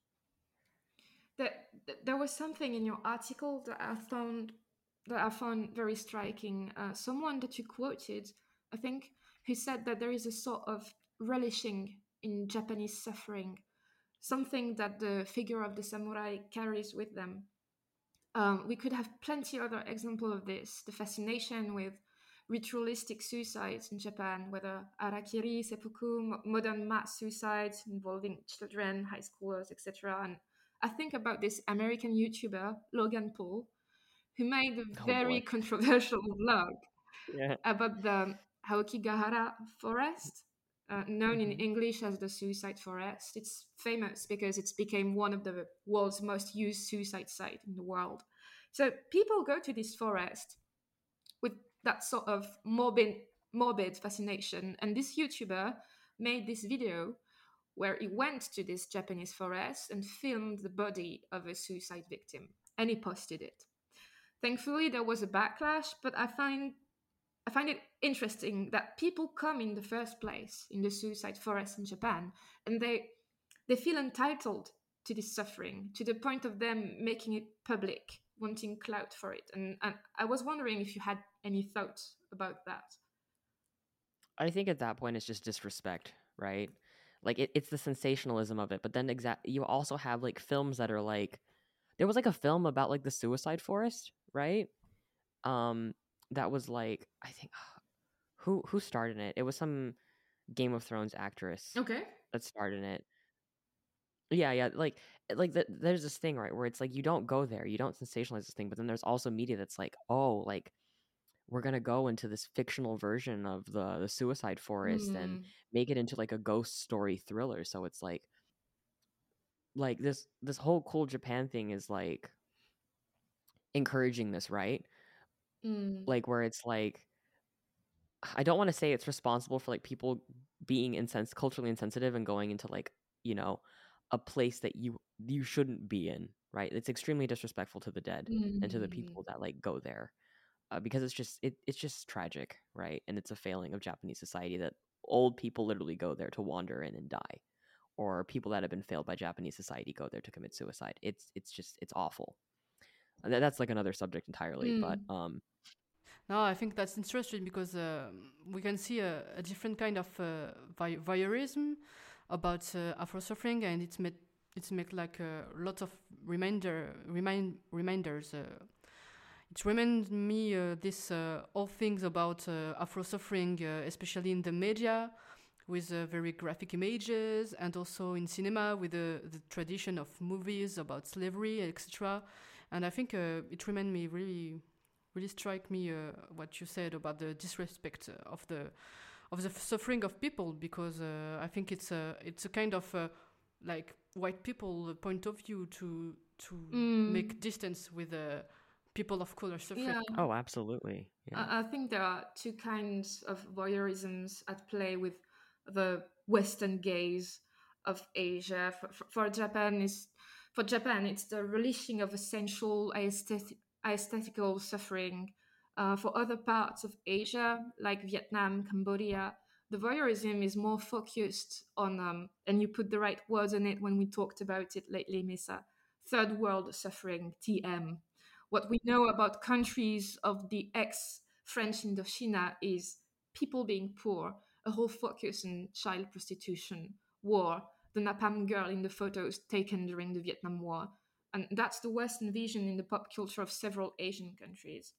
That th- there was something in your article that I found that I found very striking. Uh, someone that you quoted, I think, who said that there is a sort of relishing in Japanese suffering, something that the figure of the samurai carries with them. Um, we could have plenty other example of this. The fascination with ritualistic suicides in Japan, whether harakiri, seppuku, mo- modern mass suicides involving children, high schoolers, et cetera. And I think about this American YouTuber, Logan Paul, who made a Oh, very boy. controversial vlog Yeah. about the Aokigahara forest, uh, known in Mhm. English as the Suicide Forest. It's famous because it's became one of the world's most used suicide sites in the world. So people go to this forest with that sort of morbid, morbid fascination. And this YouTuber made this video where he went to this Japanese forest and filmed the body of a suicide victim, and he posted it. Thankfully, there was a backlash, but I find I find it interesting that people come in the first place in the suicide forest in Japan, and they they feel entitled to this suffering to the point of them making it public, wanting clout for it. And, and I was wondering if you had any thoughts about that. I think at that point it's just disrespect, right? Like, it, it's the sensationalism of it, but then exact you also have like films that are like, there was like a film about like the suicide forest, right? Um, that was like, I think who who starred in it? It was some Game of Thrones actress Okay. that starred in it. Yeah, yeah, like like the, there's this thing, right, where it's like you don't go there, you don't sensationalize this thing, but then there's also media that's like, oh, like, we're gonna go into this fictional version of the the suicide forest and Mm. make it into like a ghost story thriller. So it's like like this this whole Cool Japan thing is like encouraging this, right? Mm. Like where it's like, I don't want to say it's responsible for like people being insens- culturally insensitive and going into like, you know, a place that you you shouldn't be in, right? It's extremely disrespectful to the dead Mm. and to the people that like go there, uh, because it's just it, it's just tragic, right? And it's a failing of Japanese society that old people literally go there to wander in and die, or people that have been failed by Japanese society go there to commit suicide. It's it's just it's awful. And that- that's like another subject entirely, Mm. but um. No, I think that's interesting because uh, we can see a, a different kind of uh, vi- voyeurism about uh, Afro suffering, and it's made it's made like a lot of reminder remind reminders. Uh, it reminds me uh, this uh, all things about uh, Afro suffering, uh, especially in the media, with uh, very graphic images, and also in cinema with the, the tradition of movies about slavery, et cetera. And I think uh, it reminded me really. really strike me uh, what you said about the disrespect of the of the suffering of people, because uh, I think it's a it's a kind of uh, like white people point of view to to Mm. make distance with uh, people of color suffering. Yeah. Oh, absolutely. Yeah. I, I think there are two kinds of voyeurisms at play with the Western gaze of Asia. For, for, for Japan, is for Japan, it's the relishing of essential aesthetic, aesthetical suffering. Uh, for other parts of Asia, like Vietnam, Cambodia, the voyeurism is more focused on, um, and you put the right words on it when we talked about it lately, Misa, third world suffering, T M. What we know about countries of the ex-French Indochina is people being poor, a whole focus on child prostitution, war, the Napalm girl in the photos taken during the Vietnam War. And that's the Western vision in the pop culture of several Asian countries.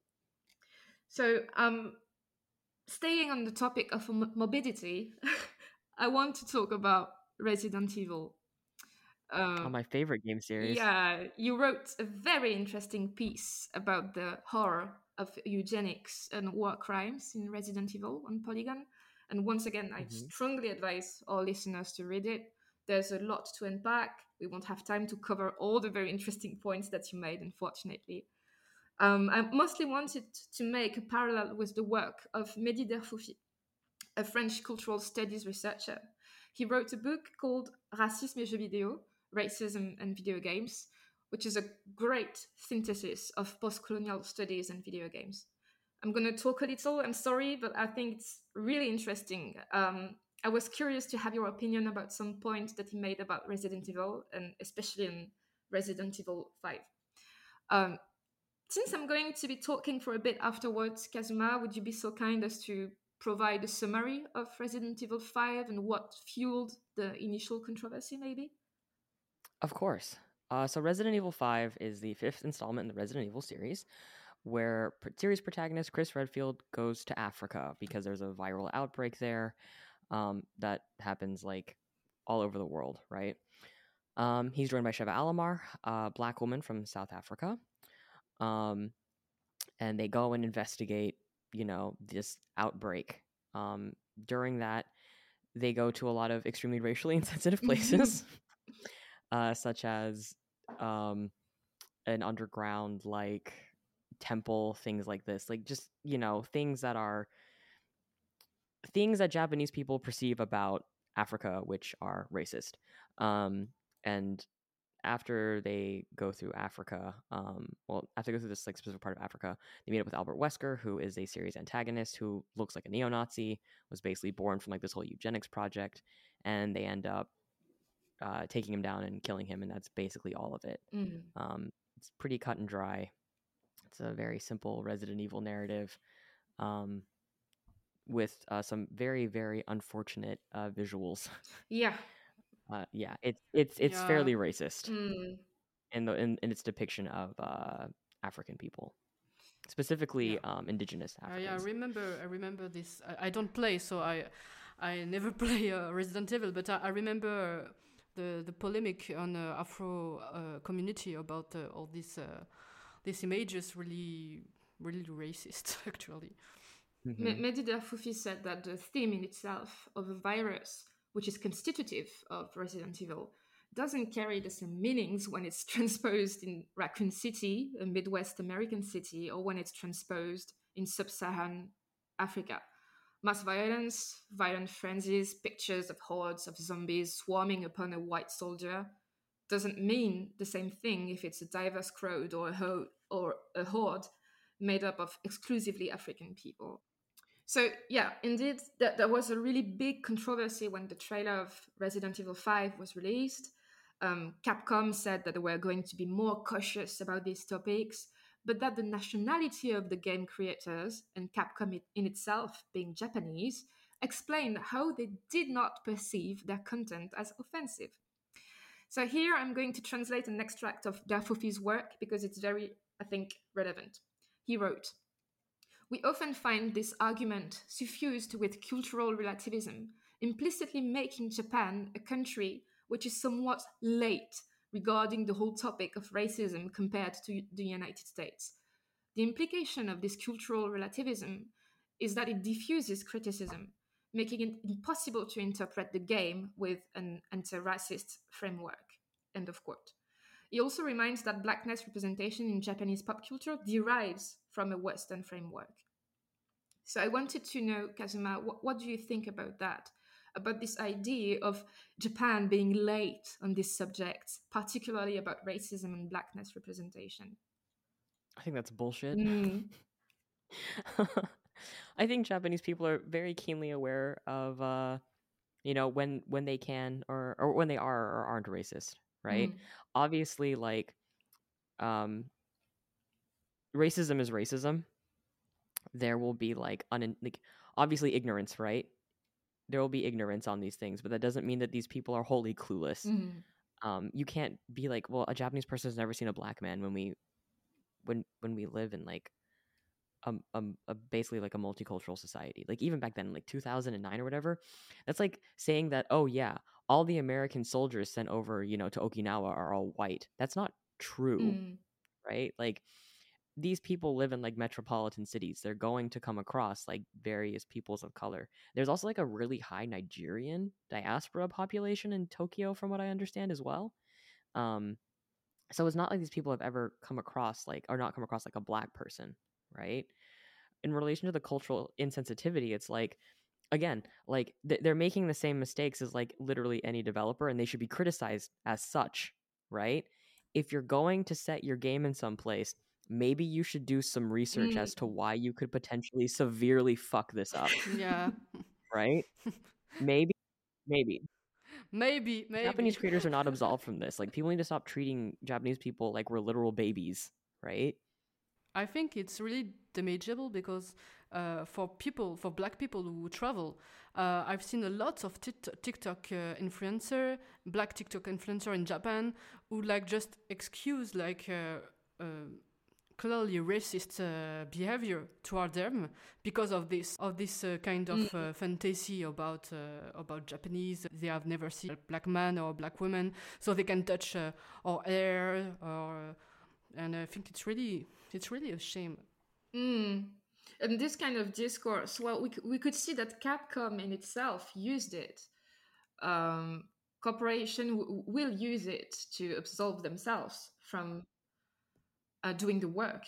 So, um, staying on the topic of m- morbidity, I want to talk about Resident Evil. Uh, Oh, my favorite game series. Yeah, you wrote a very interesting piece about the horror of eugenics and war crimes in Resident Evil on Polygon. And once again, I Mhm. strongly advise our listeners to read it. There's a lot to unpack. We won't have time to cover all the very interesting points that you made, unfortunately. Um, I mostly wanted to make a parallel with the work of Mehdi Derfoufi, a French cultural studies researcher. He wrote a book called Racisme et jeux vidéo, Racism and Video Games, which is a great synthesis of post-colonial studies and video games. I'm going to talk a little, I'm sorry, but I think it's really interesting. Um, I was curious to have your opinion about some points that he made about Resident Evil, and especially in Resident Evil five. Um, since I'm going to be talking for a bit afterwards, Kazuma, would you be so kind as to provide a summary of Resident Evil five and what fueled the initial controversy, maybe? Of course. Uh, so Resident Evil five is the fifth installment in the Resident Evil series, where pr- series protagonist Chris Redfield goes to Africa because there's a viral outbreak there um, that happens like all over the world, right? Um, he's joined by Sheva Alomar, a black woman from South Africa, um, and they go and investigate, you know, this outbreak. Um, during that, they go to a lot of extremely racially insensitive places, uh, such as um, an underground like temple, things like this, like just you know things that are things that Japanese people perceive about Africa, which are racist. Um, and after they go through Africa, um, well, after they go through this like specific part of Africa, they meet up with Albert Wesker, who is a series antagonist who looks like a neo-Nazi, was basically born from like this whole eugenics project, and they end up uh, taking him down and killing him, and that's basically all of it. Mm. Um, it's pretty cut and dry. It's a very simple Resident Evil narrative, um, with uh, some very very unfortunate uh, visuals. Yeah. Uh, yeah, it's it's it's Yeah. fairly racist Mm. in the in, in its depiction of uh, African people, specifically Yeah. um, indigenous I, I Africans. remember. I remember this. I, I don't play, so I, I never play uh, Resident Evil. But I, I remember uh, the the polemic on uh, Afro uh, community about uh, all these uh, these images. Really, really racist, actually. Mhm. Me- Mehdi Derfoufi said that the theme in itself of a virus, which is constitutive of Resident Evil, doesn't carry the same meanings when it's transposed in Raccoon City, a Midwest American city, or when it's transposed in sub-Saharan Africa. Mass violence, violent frenzies, pictures of hordes of zombies swarming upon a white soldier doesn't mean the same thing if it's a diverse crowd or a, ho- or a horde made up of exclusively African people. So yeah, indeed, that there was a really big controversy when the trailer of Resident Evil five was released. Um, Capcom said that they were going to be more cautious about these topics, but that the nationality of the game creators, and Capcom in itself being Japanese, explained how they did not perceive their content as offensive. So here I'm going to translate an extract of Dafofi's work because it's very, I think, relevant. He wrote, "We often find this argument suffused with cultural relativism, implicitly making Japan a country which is somewhat late regarding the whole topic of racism compared to the United States. The implication of this cultural relativism is that it diffuses criticism, making it impossible to interpret the game with an anti-racist framework." End of quote. He also reminds that blackness representation in Japanese pop culture derives from a Western framework. So I wanted to know, Kazuma, what, what do you think about that? About this idea of Japan being late on this subject, particularly about racism and blackness representation? I think that's bullshit. Mm. I think Japanese people are very keenly aware of, uh, you know, when when they can or or when they are or aren't racist, right? Mm. Obviously, like, um, racism is racism. There will be like un like obviously ignorance, right? There will be ignorance on these things, but that doesn't mean that these people are wholly clueless. Mm. Um, you can't be like, well, a Japanese person has never seen a black man when we when when we live in like um, um a basically like a multicultural society. Like even back then, like two thousand nine or whatever, that's like saying that, oh yeah, all the American soldiers sent over, you know, to Okinawa are all white. That's not true, Mm. right? Like these people live in like metropolitan cities. They're going to come across like various peoples of color. There's also like a really high Nigerian diaspora population in Tokyo, from what I understand as well. Um, so it's not like these people have ever come across like, or not come across like a black person, right? In relation to the cultural insensitivity, it's like, again, like th- they're making the same mistakes as like literally any developer, and they should be criticized as such, right? If you're going to set your game in some place, maybe you should do some research Mm. as to why you could potentially severely fuck this up, Yeah. right? Maybe, maybe. Maybe, maybe. Japanese creators are not absolved from this. Like, people need to stop treating Japanese people like we're literal babies, right? I think it's really damageable because uh, for people, for black people who travel, uh, I've seen a lot of tit- TikTok uh, influencer, black TikTok influencer in Japan, who like just excuse like uh, uh, clearly racist uh, behavior toward them because of this of this uh, kind of uh, fantasy about uh, about Japanese. They have never seen a black man or a black woman, so they can touch uh, our hair, or and I think it's really it's really a shame. Mm. And this kind of discourse, well, we, c- we could see that Capcom in itself used it. Um, corporation w- will use it to absolve themselves from uh, doing the work.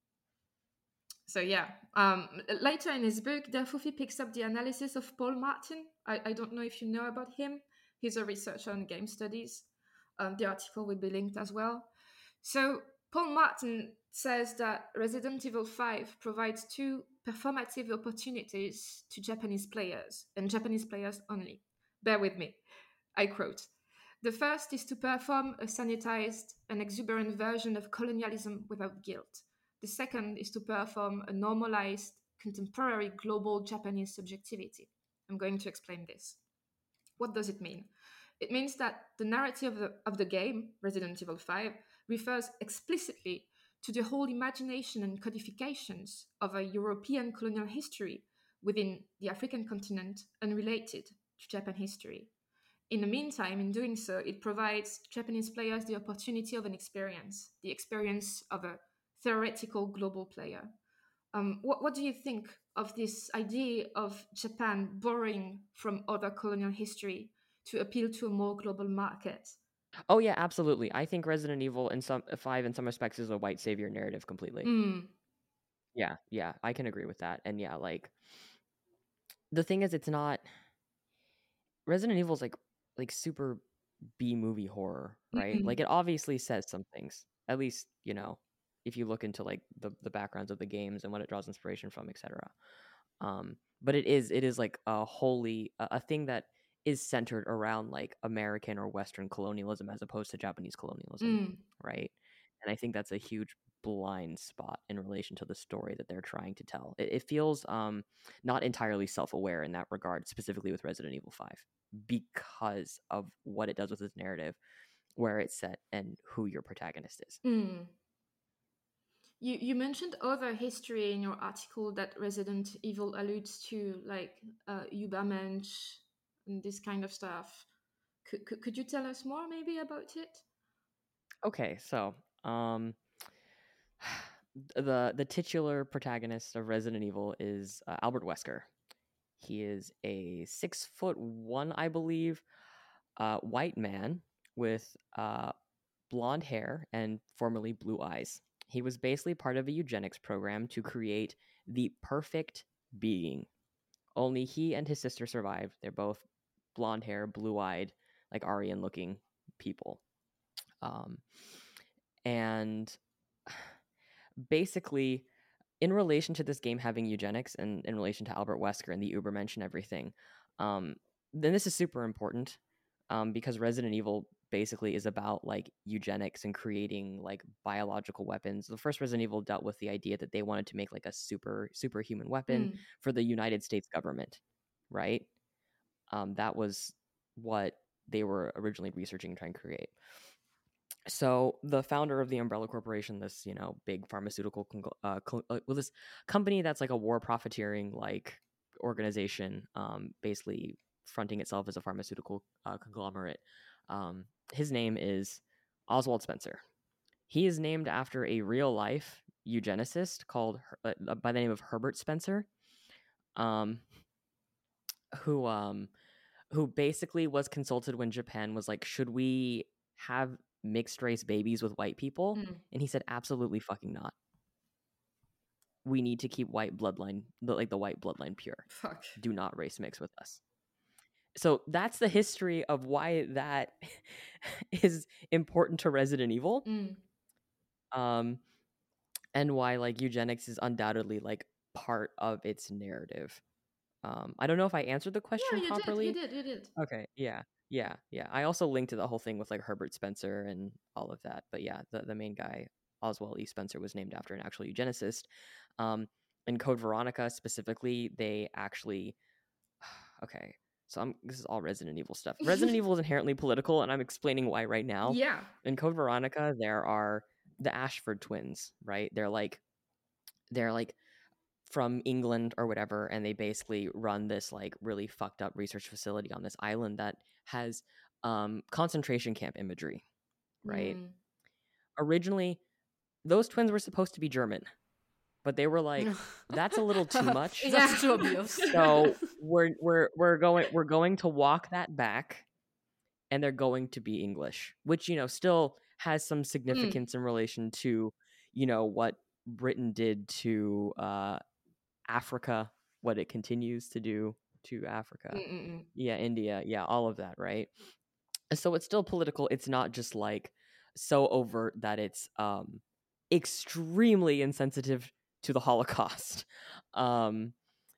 So yeah, um, later in his book, Dafofi picks up the analysis of Paul Martin. I, I don't know if you know about him. He's a researcher on game studies. Um, the article will be linked as well. So Paul Martin says that Resident Evil five provides two performative opportunities to Japanese players, and Japanese players only. Bear with me. I quote, "The first is to perform a sanitized and exuberant version of colonialism without guilt. The second is to perform a normalized, contemporary global Japanese subjectivity." I'm going to explain this. What does it mean? It means that the narrative of the, of the game, Resident Evil five, refers explicitly to the whole imagination and codifications of a European colonial history within the African continent unrelated to Japan history. In the meantime, in doing so, it provides Japanese players the opportunity of an experience, the experience of a theoretical global player. Um, what, what do you think of this idea of Japan borrowing from other colonial history to appeal to a more global market? Oh yeah, absolutely. I think Resident Evil in some five in some respects is a white savior narrative completely. Mm. Yeah, yeah, I can agree with that. And yeah, like the thing is, it's not Resident Evil's like like super B movie horror, right? Mm. Like it obviously says some things. At least, you know, if you look into like the the backgrounds of the games and what it draws inspiration from, et cetera. Um, but it is it is like a wholly a, a thing that is centered around like American or Western colonialism as opposed to Japanese colonialism, Mm. right? And I think that's a huge blind spot in relation to the story that they're trying to tell. It, it feels um not entirely self-aware in that regard, specifically with Resident Evil five, because of what it does with its narrative, where it's set, and who your protagonist is. Mm. You you mentioned other history in your article that Resident Evil alludes to, like uh, Übermensch and this kind of stuff. Could, could could you tell us more maybe about it? Okay, so um the the titular protagonist of Resident Evil is uh, Albert Wesker. He is a six foot one, I believe, uh, white man with uh, blonde hair and formerly blue eyes. He was basically part of a eugenics program to create the perfect being. Only he and his sister survived. They're both blonde hair, blue eyed, like Aryan looking people. Um, and basically, in relation to this game having eugenics and in relation to Albert Wesker and the Übermensch and everything, um, then this is super important um, because Resident Evil basically is about like eugenics and creating like biological weapons. The first Resident Evil dealt with the idea that they wanted to make like a super superhuman weapon Mm. for the United States government, right? Um, that was what they were originally researching and trying to create. So the founder of the Umbrella Corporation, this you know big pharmaceutical congl- uh, cl- uh, well this company that's like a war profiteering like organization, um, basically fronting itself as a pharmaceutical uh, conglomerate. Um, his name is Oswald Spencer. He is named after a real life eugenicist called uh, by the name of Herbert Spencer, um, who um, who basically was consulted when Japan was like, should we have mixed race babies with white people? Mm. And he said, absolutely fucking not. We need to keep white bloodline, like the white bloodline pure. Fuck. Do not race mix with us. So that's the history of why that is important to Resident Evil. Mm. Um, and why like eugenics is undoubtedly like part of its narrative. Um, I don't know if I answered the question Yeah, you properly. did. You did. You did. Okay, yeah, yeah, yeah. I also linked to the whole thing with like Herbert Spencer and all of that. But yeah, the, the main guy, Oswald E. Spencer, was named after an actual eugenicist. Um, in Code Veronica specifically, they actually okay. So I'm this is all Resident Evil stuff. Resident Evil is inherently political, and I'm explaining why right now. Yeah. In Code Veronica, there are the Ashford twins, right? They're like they're like from England or whatever, and they basically run this like really fucked up research facility on this island that has um, concentration camp imagery, right? Mm. Originally, those twins were supposed to be German, but they were like, "That's a little too much. That's too obvious." So we're we're we're going we're going to walk that back, and they're going to be English, which you know still has some significance mm. in relation to you know what Britain did to uh, Africa, what it continues to do to Africa. Mm-mm. Yeah, India, yeah, all of that, right? So it's still political. It's not just like so overt that it's um extremely insensitive to the Holocaust. Um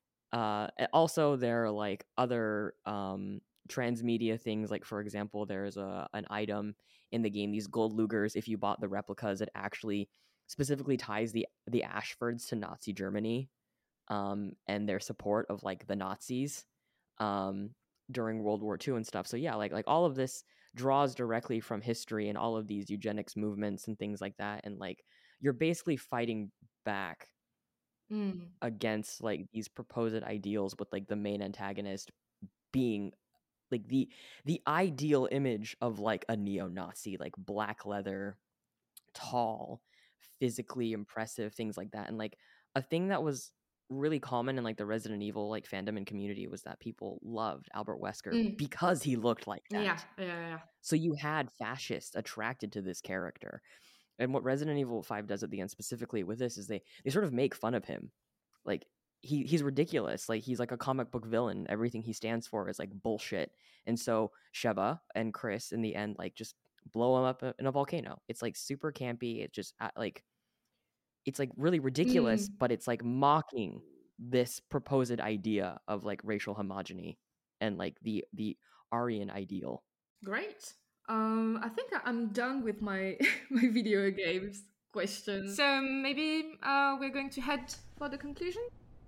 uh also there are like other um transmedia things, like for example there's a an item in the game, these gold Lugers, if you bought the replicas, it actually specifically ties the the Ashfords to Nazi Germany. Um, and their support of like the Nazis um, during World War Two and stuff. So yeah, like like all of this draws directly from history and all of these eugenics movements and things like that. And like you're basically fighting back mm. against like these proposed ideals, with like the main antagonist being like the the ideal image of like a neo-Nazi, like black leather, tall, physically impressive, things like that. And like a thing that was really common in like the Resident Evil like fandom and community was that people loved Albert Wesker Mm. because he looked like that. Yeah, yeah, yeah. So you had fascists attracted to this character. And what Resident Evil five does at the end specifically with this is they they sort of make fun of him. Like he he's ridiculous. Like he's like a comic book villain. Everything he stands for is like bullshit. And so Sheva and Chris in the end like just blow him up in a volcano. It's like super campy. It just uh, like it's like really ridiculous, Mm. but it's like mocking this proposed idea of like racial homogeny and like the the Aryan ideal. Great. Um, I think I- I'm done with my my video games questions. So maybe uh, we're going to head for the conclusion.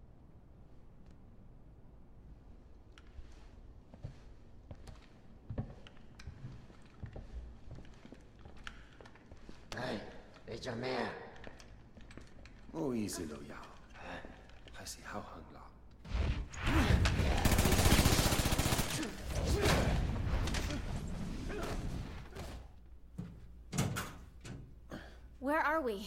Hey, it's your man. 莫意思都有，还是好行啦。 Where are we?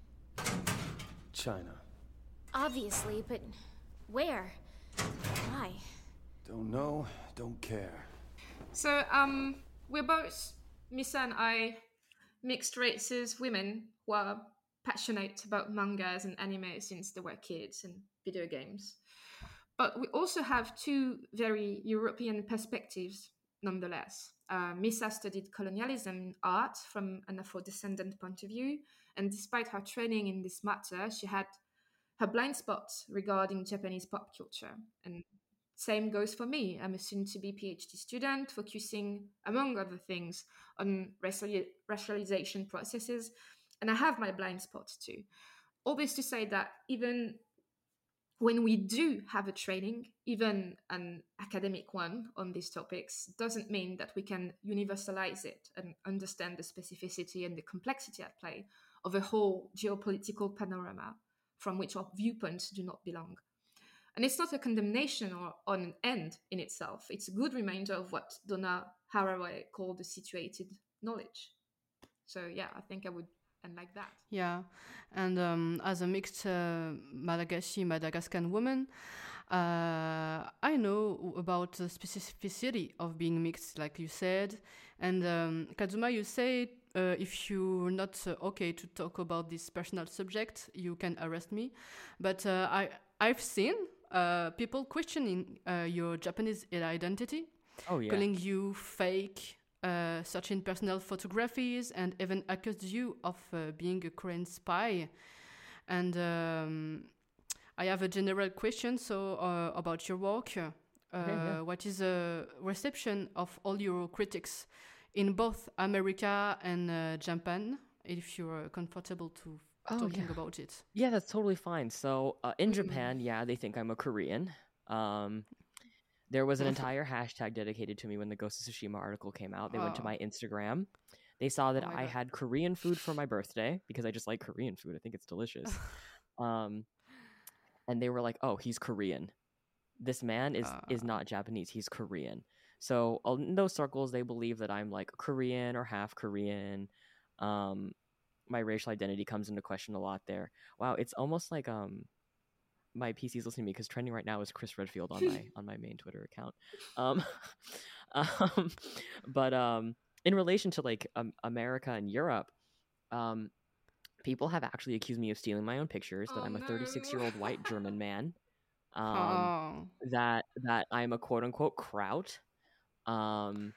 China. Obviously, but where? Why? Don't know, don't care. So um, we're both, Misa and I, mixed races women who are passionate about mangas and anime since they were kids and video games. But we also have two very European perspectives nonetheless. Uh, Misa studied colonialism in art from an Afro-descendant point of view, and despite her training in this matter, she had her blind spots regarding Japanese pop culture. And same goes for me. I'm a soon-to-be PhD student, focusing, among other things, on raciali- racialization processes, and I have my blind spots too. All this to say that even when we do have a training, even an academic one on these topics, doesn't mean that we can universalize it and understand the specificity and the complexity at play of a whole geopolitical panorama from which our viewpoints do not belong. And it's not a condemnation or on an end in itself. It's a good reminder of what Donna Haraway called the situated knowledge. So yeah, I think I would end like that. Yeah, and um, as a mixed uh, Malagasy Madagascan woman, uh, I know about the specificity of being mixed, like you said. And um, Kazuma, you say uh, if you're not uh, okay to talk about this personal subject, you can arrest me. But uh, I I've seen uh, people questioning uh, your Japanese identity, Oh yeah. calling you fake. Uh, searching personal photographies and even accused you of uh, being a Korean spy. And um, I have a general question so uh, about your work. Uh, Okay, yeah. What is the reception of all your critics in both America and uh, Japan, if you're comfortable to Oh, talking yeah. about it? Yeah, that's totally fine. So uh, in Japan, yeah, they think I'm a Korean. Um, there was an entire hashtag dedicated to me when the Ghost of Tsushima article came out. They went to Oh. my Instagram. They saw that Oh my I God. had Korean food for my birthday because I just like Korean food. I think it's delicious. um, and they were like, "Oh, he's Korean. This man is is Ah. not Japanese. He's Korean." So uh, in those circles, they believe that I'm like Korean or half Korean. Um, my racial identity comes into question a lot there. Wow, it's almost like um my P C's listening to me because trending right now is Chris Redfield on my on my main Twitter account. Um, um, but um, in relation to like um, America and Europe, um, people have actually accused me of stealing my own pictures. That Oh, I'm a thirty-six year old white German man. Um, Oh. that that I'm a quote unquote kraut. Um,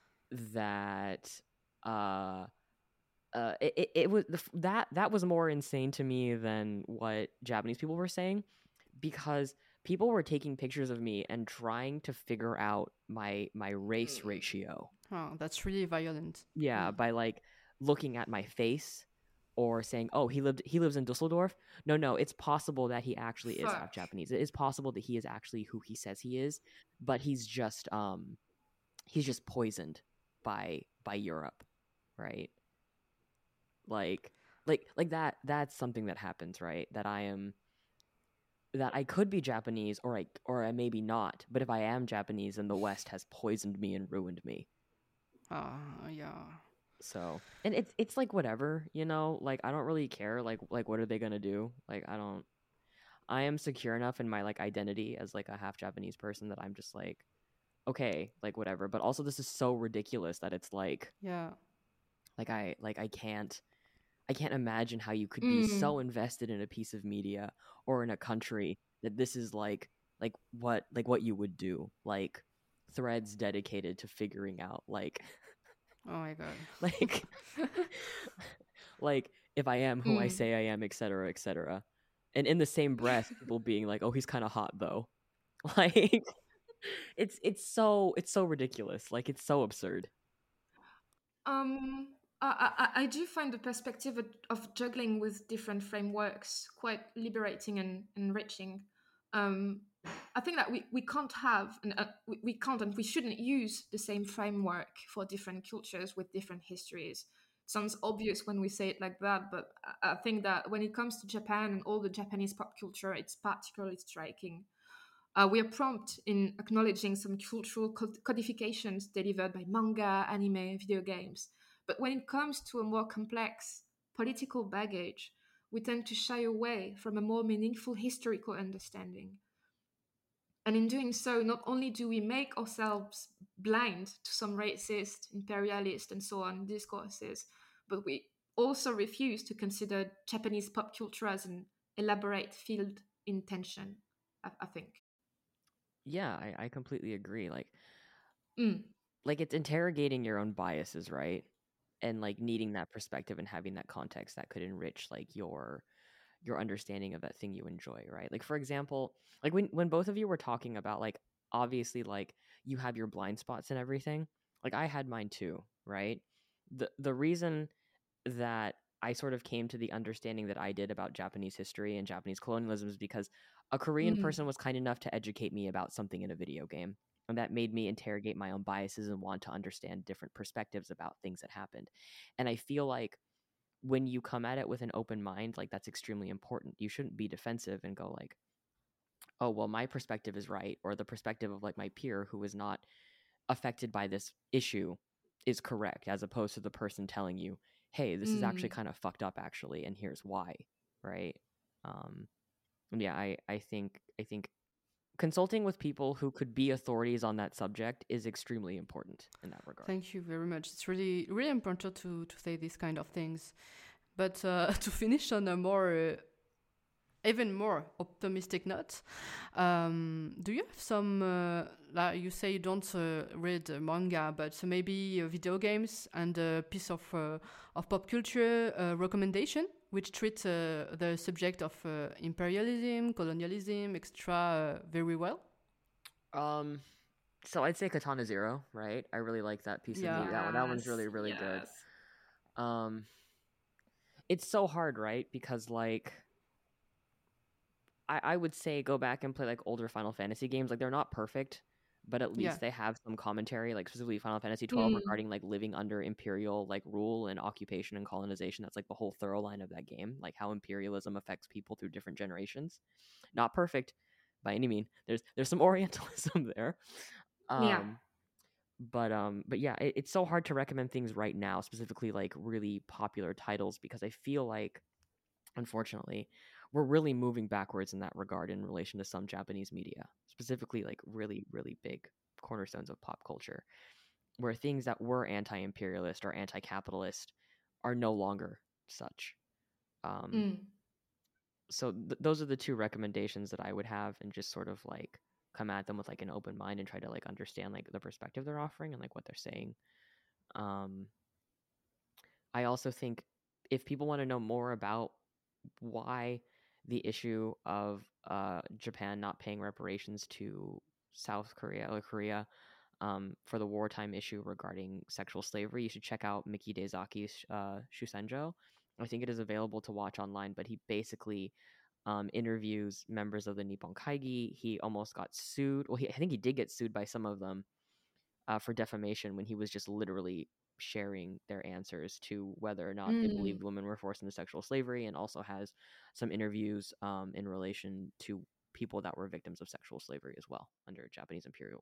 that uh. Uh, it, it, it was the, f- that that was more insane to me than what Japanese people were saying, because people were taking pictures of me and trying to figure out my my race ratio. Oh, that's really violent. Yeah, by like looking at my face or saying, "Oh, he lived he lives in Dusseldorf." No, no, it's possible that he actually is half Fuck. Japanese. It is possible that he is actually who he says he is, but he's just um he's just poisoned by by Europe, right? Like like like that that's something that happens, right? That I am that I could be Japanese or I or I maybe not, but if I am Japanese, then the West has poisoned me and ruined me. Ah, yeah. So, and it's it's like whatever, you know, like I don't really care. Like like what are they gonna do? Like I don't. I am secure enough in my like identity as like a half Japanese person that I'm just like, okay, like whatever. But also this is so ridiculous that it's like, yeah, like I like I can't I can't imagine how you could be Mm. so invested in a piece of media or in a country that this is like like what like what you would do, like threads dedicated to figuring out like oh my god, like like if I am who I Mm. say I am, et cetera, et cetera. And in the same breath, people being like, "Oh, he's kind of hot though." Like it's it's so it's so ridiculous. Like it's so absurd. Um, I, I, I do find the perspective of, of juggling with different frameworks quite liberating and enriching. Um, I think that we, we can't have, and uh, we, we can't and we shouldn't use the same framework for different cultures with different histories. Sounds obvious when we say it like that, but I I think that when it comes to Japan and all the Japanese pop culture, it's particularly striking. Uh, we are prompt in acknowledging some cultural cod- codifications delivered by manga, anime, video games. But when it comes to a more complex political baggage, we tend to shy away from a more meaningful historical understanding. And in doing so, not only do we make ourselves blind to some racist, imperialist, and so on discourses, but we also refuse to consider Japanese pop culture as an elaborate field in tension, I, I think. Yeah, I, I completely agree. Like Mm. like it's interrogating your own biases, right? And like needing that perspective and having that context that could enrich like your your understanding of that thing you enjoy, right? Like for example, like when when both of you were talking about like obviously like you have your blind spots and everything, like I had mine too, right? The the reason that I sort of came to the understanding that I did about Japanese history and Japanese colonialism is because a Korean Mm. person was kind enough to educate me about something in a video game. And that made me interrogate my own biases and want to understand different perspectives about things that happened. And I feel like when you come at it with an open mind, like that's extremely important. You shouldn't be defensive and go like, oh, well, my perspective is right, or the perspective of like my peer who is not affected by this issue is correct, as opposed to the person telling you, hey, this is actually Mm. kind of fucked up actually, and here's why, right? Um, and yeah, I, I think I think consulting with people who could be authorities on that subject is extremely important in that regard. thank you very much. It's really really important to to say these kind of things. But uh, to finish on a more uh, even more optimistic note, um, do you have some, uh, like you say you don't uh, read uh, manga, but maybe uh, video games and a piece of uh, of pop culture uh, recommendation which treat uh, the subject of uh, imperialism, colonialism, et cetera uh, very well? Um, so I'd say Katana Zero, right? I really like that piece Yeah. of media. That, one, that one's Yes, really, really yes. good. Um, it's so hard, right? Because like, I, I would say go back and play like older Final Fantasy games. Like they're not perfect, but at least Yeah. they have some commentary, like specifically Final Fantasy twelve Mm. regarding like living under imperial like rule and occupation and colonization. That's like the whole thorough line of that game, like how imperialism affects people through different generations. Not perfect by any mean. There's there's some Orientalism there. Um, Yeah. but um but yeah, it, it's so hard to recommend things right now, specifically like really popular titles, because I feel like unfortunately we're really moving backwards in that regard in relation to some Japanese media, specifically like really really big cornerstones of pop culture, where things that were anti-imperialist or anti-capitalist are no longer such. um Mm. so th- those are the two recommendations that I would have, and just sort of like come at them with like an open mind and try to like understand like the perspective they're offering and like what they're saying. um I also think if people want to know more about why the issue of uh Japan not paying reparations to South Korea or Korea um for the wartime issue regarding sexual slavery, you should check out Miki Daisaki's uh Shusenjo. I think it is available to watch online, but he basically um, interviews members of the Nippon Kaigi. He almost got sued. Well, he, I think he did get sued by some of them uh, for defamation when he was just literally sharing their answers to whether or not they Mm. believed women were forced into sexual slavery, and also has some interviews um, in relation to people that were victims of sexual slavery as well under Japanese imperial rule.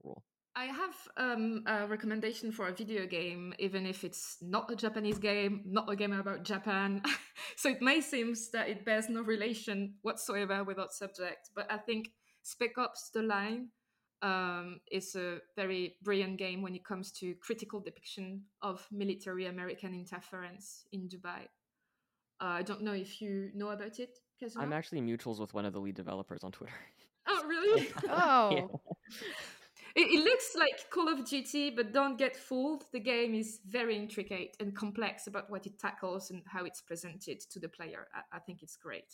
I have um, a recommendation for a video game, even if it's not a Japanese game, not a game about Japan. So it may seem that it bears no relation whatsoever with our subject, but I think Spec Ops: The Line um, is a very brilliant game when it comes to critical depiction of military American interference in Dubai. Uh, I don't know if you know about it, Kazuma? I'm actually mutuals with one of the lead developers on Twitter. Oh, really? Oh. Yeah. It, it looks like Call of Duty, but don't get fooled. The game is very intricate and complex about what it tackles and how it's presented to the player. I, I think it's great.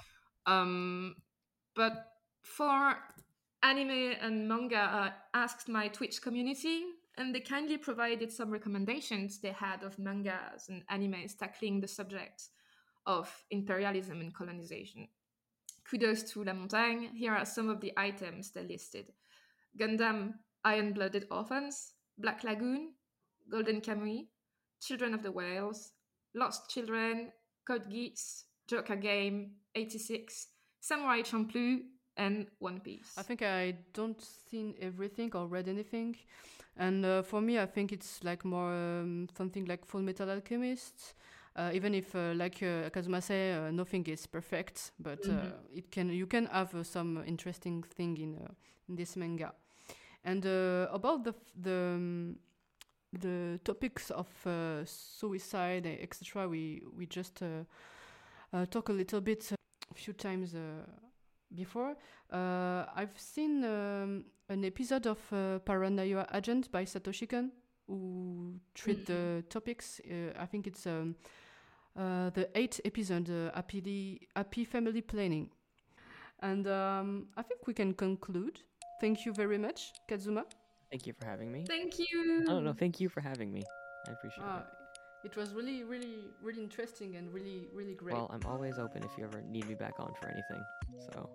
Um, but for anime and manga, I asked my Twitch community, and they kindly provided some recommendations they had of mangas and animes tackling the subject of imperialism and colonization. Kudos to La Montagne. Here are some of the items they listed. Gundam Iron-Blooded Orphans, Black Lagoon, Golden Kamuy, Children of the Whales, Lost Children, Code Geass, Joker Game, eighty-six, Samurai Champloo, and One Piece. I think I don't seen everything or read anything, and uh, for me, I think it's like more um, something like Full Metal Alchemist. Uh, even if, uh, like uh, Kazuma say, uh, nothing is perfect, but uh, Mhm. it can you can have uh, some interesting thing in uh, in this manga. And uh, about the f- the um, the topics of uh, suicide, et cetera. We we just uh, uh, talk a little bit uh, a few times uh, before. Uh, I've seen um, an episode of uh, Paranoia Agent by Satoshi Kon, who treat the topics. Uh, I think it's um, uh, the eighth episode, uh, happy happy family planning. And um, I think we can conclude. Thank you very much, Kazuma. Thank you for having me. Thank you. Oh no, thank you for having me. I appreciate Uh, it. it was really, really, really interesting and really, really great. Well, I'm always open if you ever need me back on for anything. So.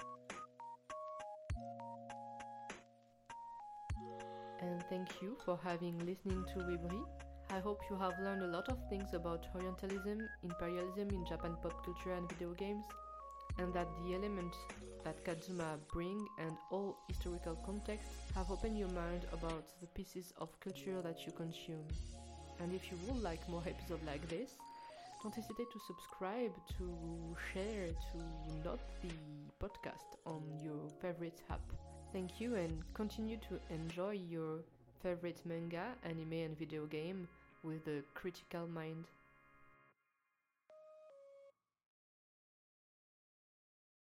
And thank you for having listening to Webri. I hope you have learned a lot of things about Orientalism, imperialism in Japan pop culture and video games, and that the elements that Kazuma bring and all historical context have opened your mind about the pieces of culture that you consume. And if you would like more episodes like this, don't hesitate to subscribe, to share, to note the podcast on your favorite app. Thank you and continue to enjoy your favorite manga, anime and video game with a critical mind.